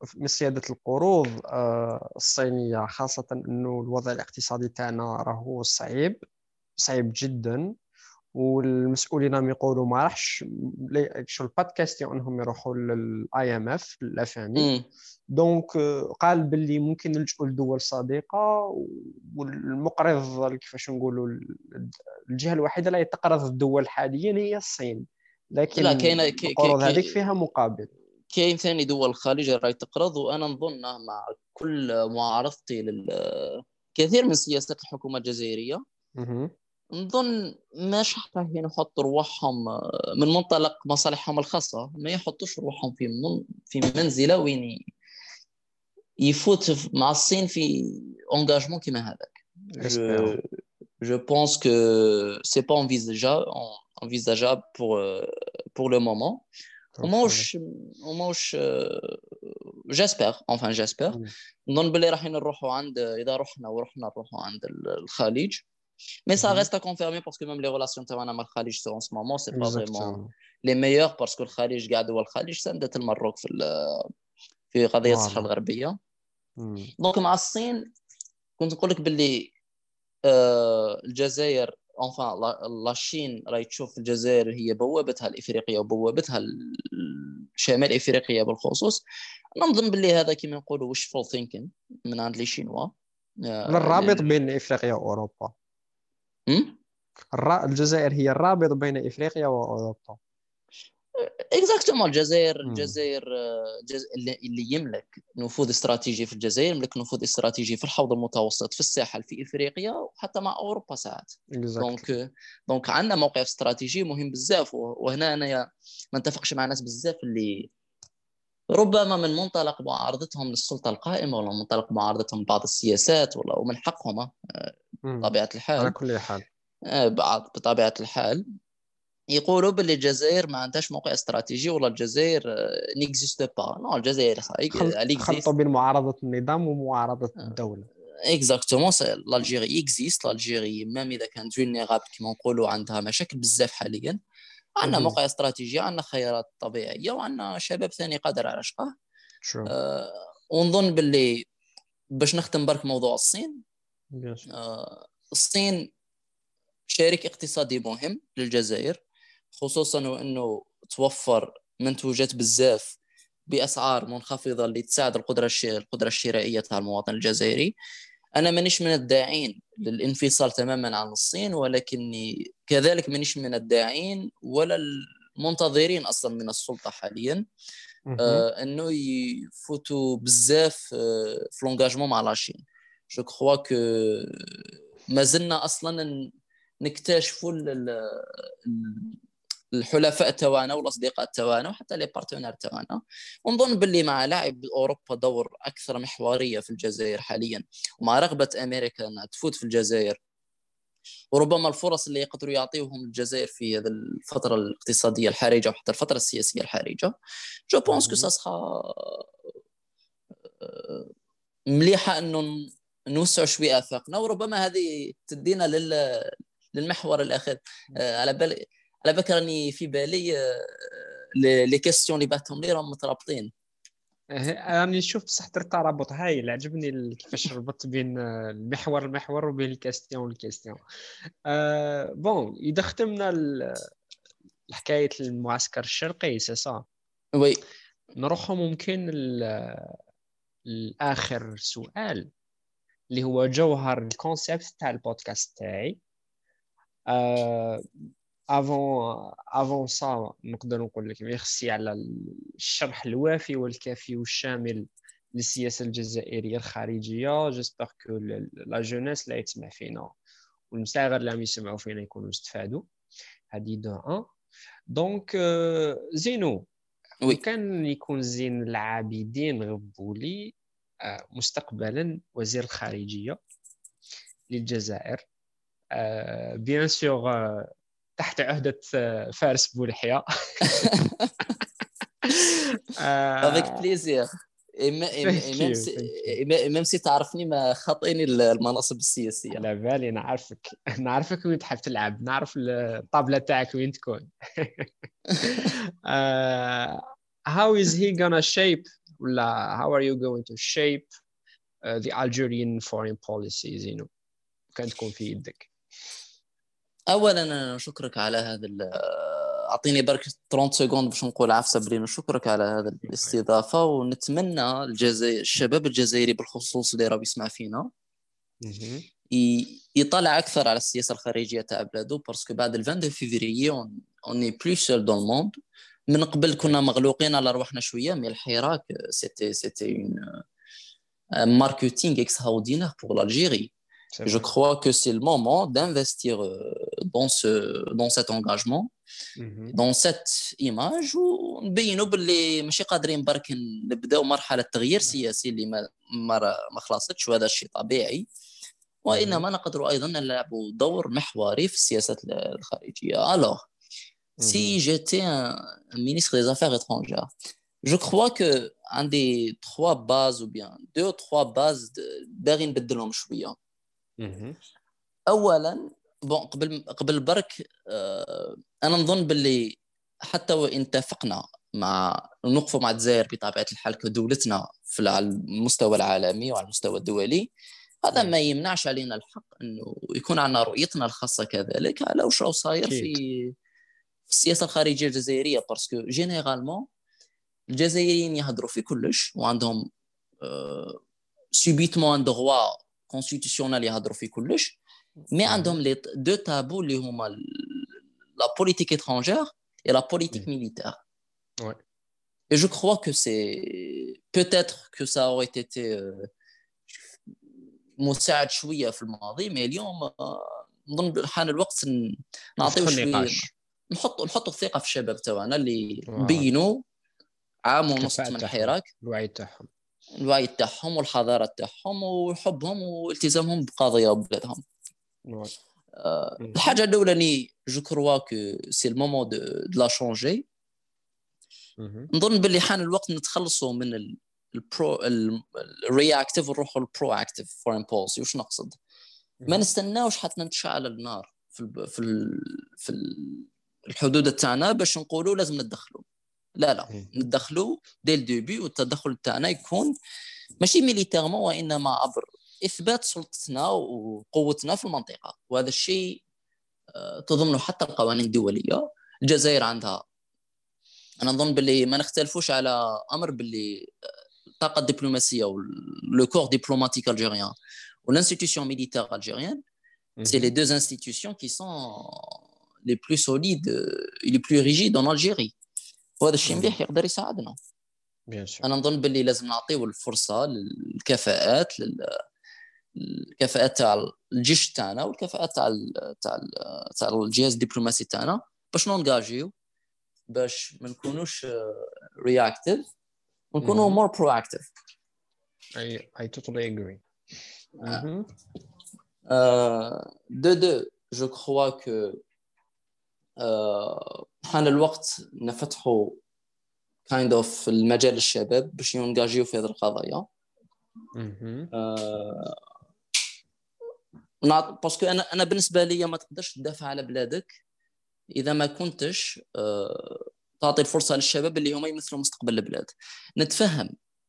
Speaker 1: من سيادة القروض الصينية، خاصة أنه الوضع الاقتصادي تاعنا راهو صعيب جدا، والمسؤولين راهم يقولوا ما راحش شو با كاستيون انهم يروحوا للاي ام اف الافامي.
Speaker 2: امم
Speaker 1: دونك قال باللي ممكن نلجؤوا لدول صديقه، والمقرض كيفاش نقولوا الجهه الوحيده اللي تقرض الدول حاليا هي الصين،
Speaker 2: لا،
Speaker 1: لكن
Speaker 2: كاين
Speaker 1: القروض هذيك فيها مقابل.
Speaker 2: كاين ثاني دول الخليج راهي تقرض، وانا نظن مع كل معارضتي كثير من سياسات الحكومه الجزائريه،
Speaker 1: مهم.
Speaker 2: نظن مش رايحين يحطوا روحهم من منطلق مصالحهم الخاصه، ما يحطوش روحهم في منزله وين يفوت مع الصين في انغاجمون كيما هذاك.
Speaker 1: Espérons.
Speaker 2: je je pense que c'est pas envisageable pour le moment.
Speaker 1: Enfin,
Speaker 2: وماوش جاسبر، enfin جاسبر
Speaker 1: mm.
Speaker 2: نظن باللي راح نروحوا عند، اذا رحنا نروحوا عند الخليج. Mais ça
Speaker 1: Mhm.
Speaker 2: reste à confirmer parce que même les relations تاعنا مع الخليج en ce moment c'est pas vraiment
Speaker 1: Exactement.
Speaker 2: les meilleures parce que الخليج قاعد هو الخليج سندت المروك في قضية الصحراء
Speaker 1: Voilà.
Speaker 2: الغربية.
Speaker 1: Mm.
Speaker 2: دونك مع الصين كنت نقول لك باللي الجزائر enfin لاشين راهي تشوف الجزائر هي بوابتها الافريقيه وبوابتها شمال افريقيا بالخصوص. نظن باللي هذا كما نقولوا wishful thinking من عند لي شينوا.
Speaker 1: الرابط بين إفريقيا وأوروبا. الجزائر هي الرابط بين إفريقيا وأوروبا.
Speaker 2: اكزاكتومون الجزائر
Speaker 1: مم.
Speaker 2: اللي يملك نفوذ استراتيجي في الجزائر يملك نفوذ استراتيجي في الحوض المتوسط، في الساحل، في افريقيا وحتى مع اوروبا ساعات.
Speaker 1: Exactly.
Speaker 2: دونك عندنا موقع استراتيجي مهم بزاف. وهنا انا ما نتفقش مع ناس بزاف اللي ربما من منطلق معارضتهم للسلطه القائمه ولا منطلق معارضتهم لبعض السياسات، ومن حقهم بطبيعه
Speaker 1: على
Speaker 2: الحال.
Speaker 1: كل حال.
Speaker 2: بطبيعه الحال يقولوا باللي الجزائر ما عندهاش موقع استراتيجي ولا الجزائر نيكزيست با. نو، الجزائر
Speaker 1: خلطوا
Speaker 2: اكزيست.
Speaker 1: بين معارضة النظام ومعارضة الدولة.
Speaker 2: اكزاكتومون الجيري اكزيست. الجيري ميم اذا كانت فولنيرابل كما نقولوا عندها مشاكل بزاف حاليا، عندنا
Speaker 1: مهم.
Speaker 2: موقع استراتيجي، عندنا خيارات طبيعيه، وعندنا شباب ثاني قادر على شقه.
Speaker 1: شو
Speaker 2: ونظن باللي باش نختم برك موضوع الصين.
Speaker 1: bien sûr.
Speaker 2: الصين شريك اقتصادي مهم للجزائر، خصوصا وانه توفر منتوجات بزاف باسعار منخفضه اللي تساعد القدره الشرائيه تاع المواطن الجزائري. انا مانيش من الداعين للانفصال تماما عن الصين، ولكني كذلك مانيش من الداعين ولا المنتظرين اصلا من السلطه حاليا
Speaker 1: مهم.
Speaker 2: انه يفوتوا بزاف في لونجاجمون مع لاشين. جو كخوا كو مازلنا اصلا نكتشفوا الحلفاء تاعنا والاصدقاء تاعنا وحتى لي بارتنير تاعنا. ونظن باللي مع لاعب اوروبا دور اكثر محوريه في الجزائر حاليا، ومع رغبه امريكا انها تفوت في الجزائر، وربما الفرص اللي يقدروا يعطيوهم الجزائر في هذه الفتره الاقتصاديه الحرجه وحتى الفتره السياسيه الحرجه، جو بونس كو
Speaker 1: مهم.
Speaker 2: سا سخا مليحه انه نوسع شويه افاقنا. وربما هذه تدينا للمحور الاخير. على بالك راني في بالي لي كيستيون اللي بعثهم لي راهم مترابطين.
Speaker 1: راني نشوف بصح درت ترابط هايل، عجبني كيفاش ربطت بين المحور وبين الكاستيون. بون اذا ختمنا حكايه المعسكر الشرقي سي صا،
Speaker 2: وي
Speaker 1: نروحوا ممكن الاخر سؤال اللي هو جوهر الكونسيبت تاع البودكاست تاعي. افون سا نقدر نقول لك ميرسي على الشرح الوافي والكافي والشامل للسياسة الجزائرية الخارجية. جيسبر كو لا جونيس لا يتسمع فينا والمساغر اللي عم يسمعوا فينا يكونوا استفادوا. هذه دو ان. دونك زينو،
Speaker 2: وي
Speaker 1: وكان يكون زين العابدين غبولي مستقبلا وزير الخارجية للجزائر، بيان سور تحت عهدة فارس بولحية.
Speaker 2: افيك بليزير.
Speaker 1: ثانك يو.
Speaker 2: ميم سي تعرفني ما خاطئني المناصب السياسيه.
Speaker 1: على بالي نعرفك وين تحب تلعب، نعرف الطابلة تاعك وين تكون. How is he gonna shape ولا how are you going to shape the Algerian foreign policies كان تكون في يدك؟
Speaker 2: اولا انا نشكرك على هذا اعطيني برك 30 سكوند باش نقول عفسه بلي نشكرك على هذا الاستضافه، ونتمنى الشباب الجزائري بالخصوص اللي راه يسمع فينا يطلع اكثر على السياسه الخارجيه تاع بلادو، باسكو بعد 22 فيفري اوني بلو سول دون الموند. من قبل كنا مغلوقين على رواحنا شويه، مي الحراك سيتي اون ماركتينغ اكستراوردينير بور l'Algérie. Je crois que c'est le moment d'investir dans cet engagement, dans cette image، ونبينوا باللي ماشي قادرين برك نبداو مرحله تغيير سياسي اللي ما خلصتش، وهذا الشيء طبيعي، وانما نقدروا ايضا نلعبوا دور محوري في السياسه الخارجيه. alors si j'étais un ministre des Affaires étrangères, je crois que un des 3 bases ou bien 2 ou 3 bases باغي نبدلهم شويه. اولا بون قبل برك انا نظن باللي حتى وان اتفقنا مع نوقفوا مع الجزائر بطبيعه الحال كدولتنا على المستوى العالمي وعلى المستوى الدولي، هذا ما يمنعش علينا الحق انه يكون عندنا رؤيتنا الخاصه كذلك على واش راه صاير في السياسه الخارجيه الجزائريه، باسكو جينيرالمون الجزائريين يهضروا في كلش وعندهم سوبيتمون ان دغوا كونستيتيسيونال يهضروا في كلش، مي عندهم لي دو تابو اللي هما لا بوليتيك étrangère et la politique militaire.
Speaker 1: Ouais.
Speaker 2: Et je crois que c'est peut-être que ça aurait été مساعد شويه في الماضي، مي اليوم نظن حان الوقت نعطيو شويه نحطوا الثقه في الشباب تاعنا اللي بينوا عام ونص من الحراك، الوعي تاعهم والحضاره تاعهم وحبهم والتزامهم بقضايا بلادهم. الحاجه الاولى جو كروا كو سي المومون دو لا شونجي. نظن باللي حان الوقت نتخلصوا من الرياكتيف ونروحوا للبرو اكتيف فورين بوليسي. واش نقصد؟ ما نستناوش حتى نتشعل النار في الحدود تاعنا باش نقولوا لازم ندخلوا. لا ندخلوا ديل الديبي، والتدخل تاعنا يكون ماشي ميليتيرمون وانما عبر اثبات سلطتنا وقوتنا في المنطقه، وهذا الشيء تضمنه حتى القوانين الدوليه. الجزائر عندها، انا نظن باللي ما نختلفوش على امر باللي الطاقه الدبلوماسيه ولو كور ديبلوماتيك الجيريان والانستيتيوشن ميليتير الجيريان، c'est les deux institutions qui sont les plus solides et les plus rigides en Algérie، وهذا الشيء مليح يقدر يساعدنا. انا نظن باللي لازم نعطيو الفرصه للكفاءات الكفاءات تاع الجيش تاعنا والكفاءات تاع الجهاز الدبلوماسي تاعنا باش نونجاجيو، باش ما نكونوش reactive ونكونوا more proactive.
Speaker 1: I totally agree.
Speaker 2: je crois que حان الوقت نفتحوا kind of المجال للشباب باش ينجاجيو في هذه القضايا. باسكو انا بالنسبه لي ما تقدرش تدافع على بلادك اذا ما كنتش تعطي الفرصه للشباب اللي هما يمثلوا مستقبل البلاد. نتفهم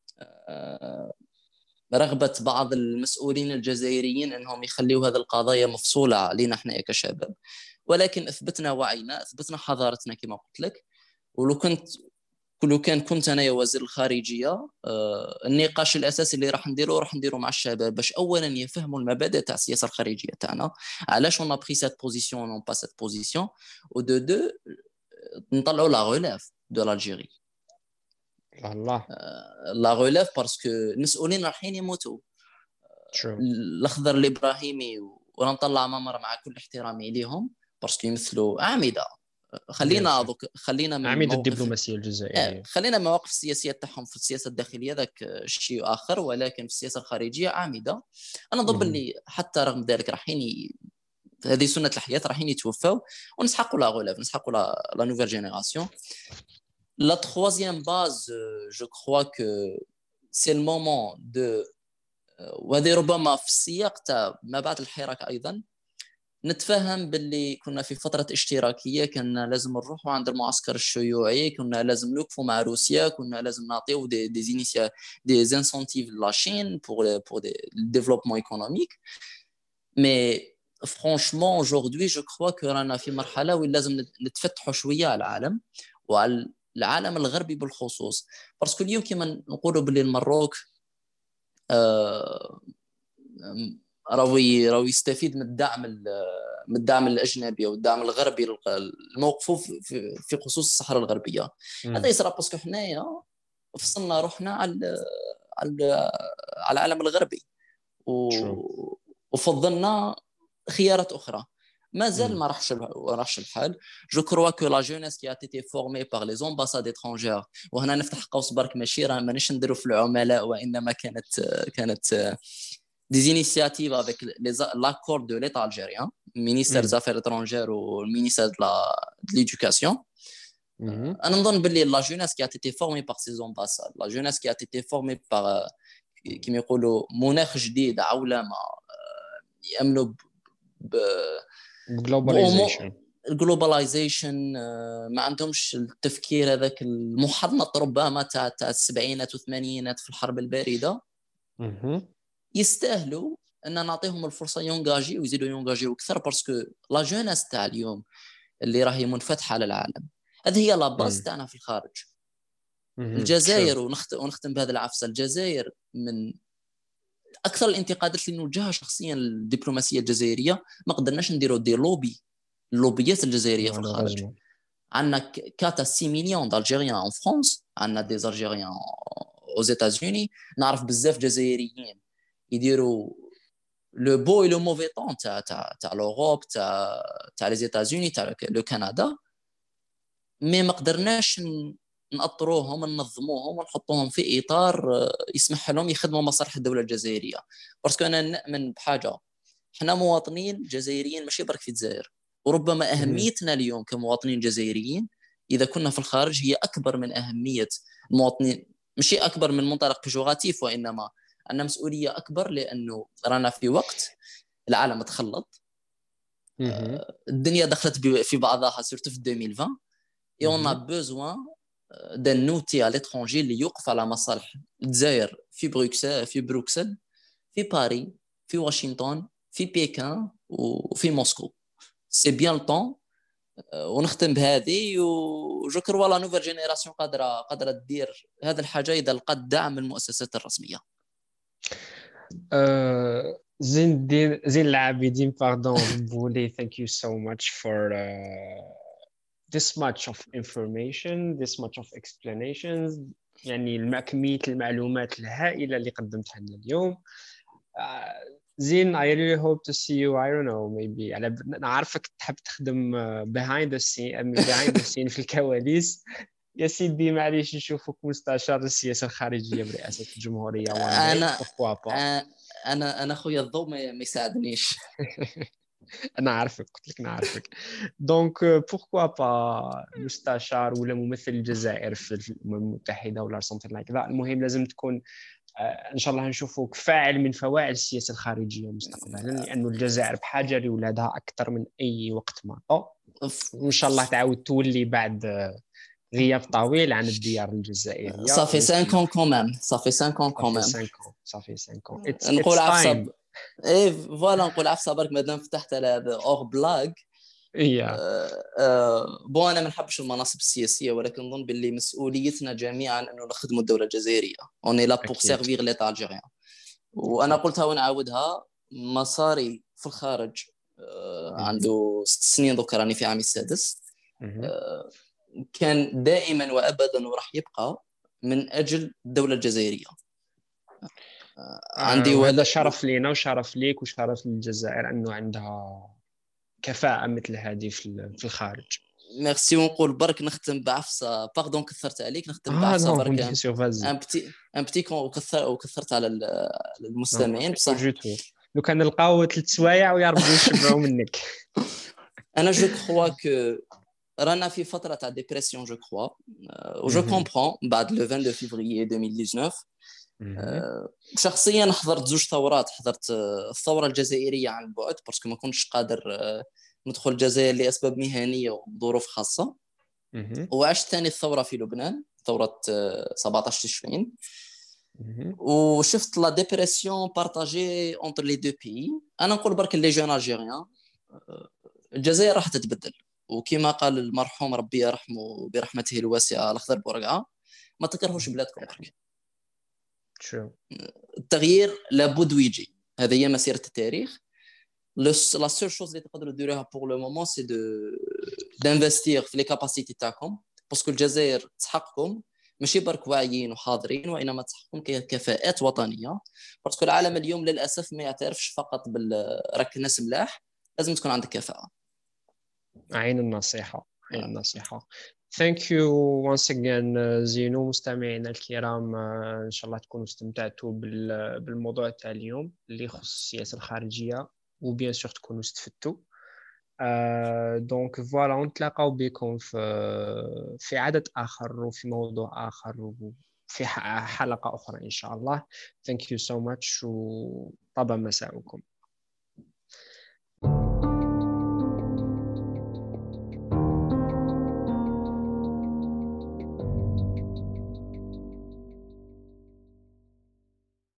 Speaker 2: رغبه بعض المسؤولين الجزائريين انهم يخليوا هذه القضايا مفصوله علينا احنا كشباب، ولكن اثبتنا وعينا، اثبتنا حضارتنا كما قلت لك. ولو كنت انا يا وزير الخارجيه، النقاش الاساسي اللي راح نديرو مع الشباب باش اولا يفهموا المبادئ تاع السياسه الخارجيه تاعنا، علاش اون بري سيت بوزيسيون اون با سيت بوزيسيون، و دو نطلعوا لا ريليف دو لالجيري.
Speaker 1: الله
Speaker 2: لا ريليف باسكو المسؤولين رايحين يموتوا. الاخضر الابراهيمي ونطلع ممر مع كل احترامي ليهم باسكو يمثلوا اعمده. خلينا من
Speaker 1: عميد الدبلوماسيه الجزائريه،
Speaker 2: خلينا مواقف السياسيه تاعهم في السياسه الداخليه ذاك شيء اخر، ولكن في السياسه الخارجيه عامده. انا ضد اللي حتى رغم ذلك رايحين هذه سنه الحياه رايحين يتوفاو ونسحقوا لا غوليف، نسحقوا لا نوفيل جينيراسيون. لا troisième base je crois que c'est le moment de وهذه ربما في السياق تاع ما بعد الحراك ايضا نتفهم باللي كنا في فترة اشتراكية، كنا لازم نروحوا عند المعسكر الشيوعي، كنا لازم نوقفوا مع روسيا، كنا لازم نعطيو دي زانسونتيف لاشين pour des développement économique. Mais franchement aujourd'hui je crois que رانا في مرحلة وين لازم نتفتحوا شوية على العالم وعلى العالم الغربي بالخصوص. باسكو اليوم كما نقولوا باللي المروك راهو يستفيد من الدعم الاجنبي والدعم الغربي الموقف في خصوص الصحراء الغربيه. هذا يصير باسكو حنايا فصلنا روحنا على العالم الغربي وفضلنا خيارات اخرى. ما زال ما راحش الحال. جو كروا كو لا جونيس كي اتيتي فورمي باغ لي زومباساد اترونجير، وهنا نفتح قوس برك ماشي راه مانيش نديروا في العملاء، وانما كانت des initiatives avec l'accord de l'État algérien, ministère des Affaires étrangères ou le ministère de l'Éducation. أنا نظن باللي la jeunesse qui a été formée par ces ambassades, la jeunesse qui a été formée par كما يقولوا مناخ جديد، عولمة يأمنوا globalization، ما عندهمش التفكير هذاك المحنط ربما تاع السبعينات والثمانينات في الحرب الباردة. يستاهلوا ان نعطيهم الفرصه يونجاجي ويزيدوا يونجاجي اكثر، باسكو لا جوناس تاع اليوم اللي راهي منفتحه على العالم هذه هي لا باز تاعنا في الخارج. الجزائر ونختم بهذا العفسه، الجزائر من اكثر الانتقادات اللي نوجهها شخصيا للدبلوماسيه الجزائريه، ما قدرناش نديروا دي اللوبيات الجزائريه في الخارج. عندنا كاتا 6 مليون دالجيريان ان فرانس، عندنا دي زالجيريان aux États-Unis، نعرف بزاف جزائريين يديروا لو بو اي لو موفي طون تاع لوروب تاع لي زيتازوني تاع لو كندا، مي ما قدرناش نأطروهم ننظموهم ونحطوهم في اطار يسمح لهم يخدموا مصالح الدوله الجزائريه. باسكو انا نؤمن بحاجه، احنا مواطنين جزائريين ماشي برك في الجزائر، وربما اهميتنا اليوم كمواطنين جزائريين اذا كنا في الخارج هي اكبر من اهميه المواطنين، ماشي اكبر من منطلق بيجوراتيف، وانما عندنا مسؤوليه اكبر، لانه رانا في وقت العالم تخلط، الدنيا دخلت في بعضها سورتو في 2020 et on a besoin d'un outil à l'étranger اللي يوقف على مصالح الجزائر في بروكسل في باريس في واشنطن في بكين وفي موسكو. سي بيان لو. ونختم بهذه، وجو كروا لا نوفيل جينيراسيون قادره تدير هذه الحاجه اذا لقات دعم من المؤسسات الرسميه.
Speaker 1: زين العابدين pardon Boulay, thank you so much for this much of information, this much of explanations. يعني كمية المعلومات الهائلة اللي قدمتها لنا اليوم. زين I really hope to see you. I don't know, maybe أنا عارفك تحب تخدم behind the scene في الكواليس. يا سيدي معليش نشوفك مستشار السياسة الخارجية برئاسة الجمهورية.
Speaker 2: أنا خويا الضوء ما يساعدنيش.
Speaker 1: أنا عارفك، قلت لك أنا عارفك. دونك بوركوا با مستشار ولا ممثل الجزائر في الأمم المتحدة ولا something like that. المهم لازم تكون ان شاء الله نشوفوك فاعل من فواعل السياسه الخارجيه مستقبلا، لانه الجزائر بحاجه لاولادها اكثر من اي وقت مضى. وان شاء الله تعاود تولي بعد غياب طويل عن الديار الجزائريه.
Speaker 2: صافي 5 ans كومام، صافي 5 ans كومام،
Speaker 1: صافي 5
Speaker 2: نقول عفسه اي فوالا، نقول عفسه برك مادام فتحت على هذا اور بلاغ. بون انا ما نحبش المناصب السياسيه، ولكن نظن باللي مسؤوليتنا جميعا انه نخدموا الدوله الجزائريه. اوني لا بور سيرفير ليتا الجيريان. وانا قلتها ونعاودها، مساري في الخارج عنده 6 سنين دوك، راني في عامي السادس. كان دائما وابدا وراح يبقى من اجل الدوله الجزائريه.
Speaker 1: عندي وهذا شرف لينا وشرف ليك وشرف للجزائر انه عندها كفاءة مثل هذه في الخارج.
Speaker 2: ميرسي. ونقول برك نختم بعفسه، باردون كثرت عليك، نختم بعفسه برك ان بتي وكثرت على المستمعين. بصح
Speaker 1: لو كان نلقاو 3 سوايع ويربوا يشبعوا منك.
Speaker 2: انا جو كخوا كو رانا في فتره تاع ديبرسيون جو كخوا، و جو كومبرون بعد لو 22 فيفري 2019 شخصيا حضرت زوج ثورات. حضرت الثوره الجزائريه عن بعد باسكو ما كنتش قادر ندخل الجزائر لاسباب مهنيه وظروف خاصه. وعشت ثاني الثوره في لبنان، ثوره 17 تشرين. وشفت لا ديبرسيون بارطاجي اونتر لي دو بي. انا نقول برك لي جون الجيريان الجزائر راح تتبدل، وكما قال المرحوم ربي يرحمه برحمته الواسعه الاخضر بورقعه، ما تكرهوش بلادكم برك. التغيير لابد ويجي، هذه هي مسيره التاريخ. لا سول شوز اللي تقدروا ديروها بور لو مومون سي دانفستير في لي كاباسيتي تاعكم، باسكو الجزائر تحقكم ماشي برك واعيين وحاضرين، وانما تحقكم كفاءات وطنيه. باسكو العالم اليوم للاسف ما يعترفش فقط راك الناس ملاح، لازم تكون عندك كفاءه.
Speaker 1: عين النصيحه، عين النصيحه. Thank you once again زينو. مستمعينا الكرام، إن شاء الله تكونوا استمتعتوا بالموضوع تاع اليوم اللي يخص السياسة الخارجية، وبيان سور تكونوا استفدتوا. دونك فوالا، نتلاقاو بكم في عدد آخر وفي موضوع آخر وفي حلقة أخرى إن شاء الله. Thank you so much وطاب مساءكم.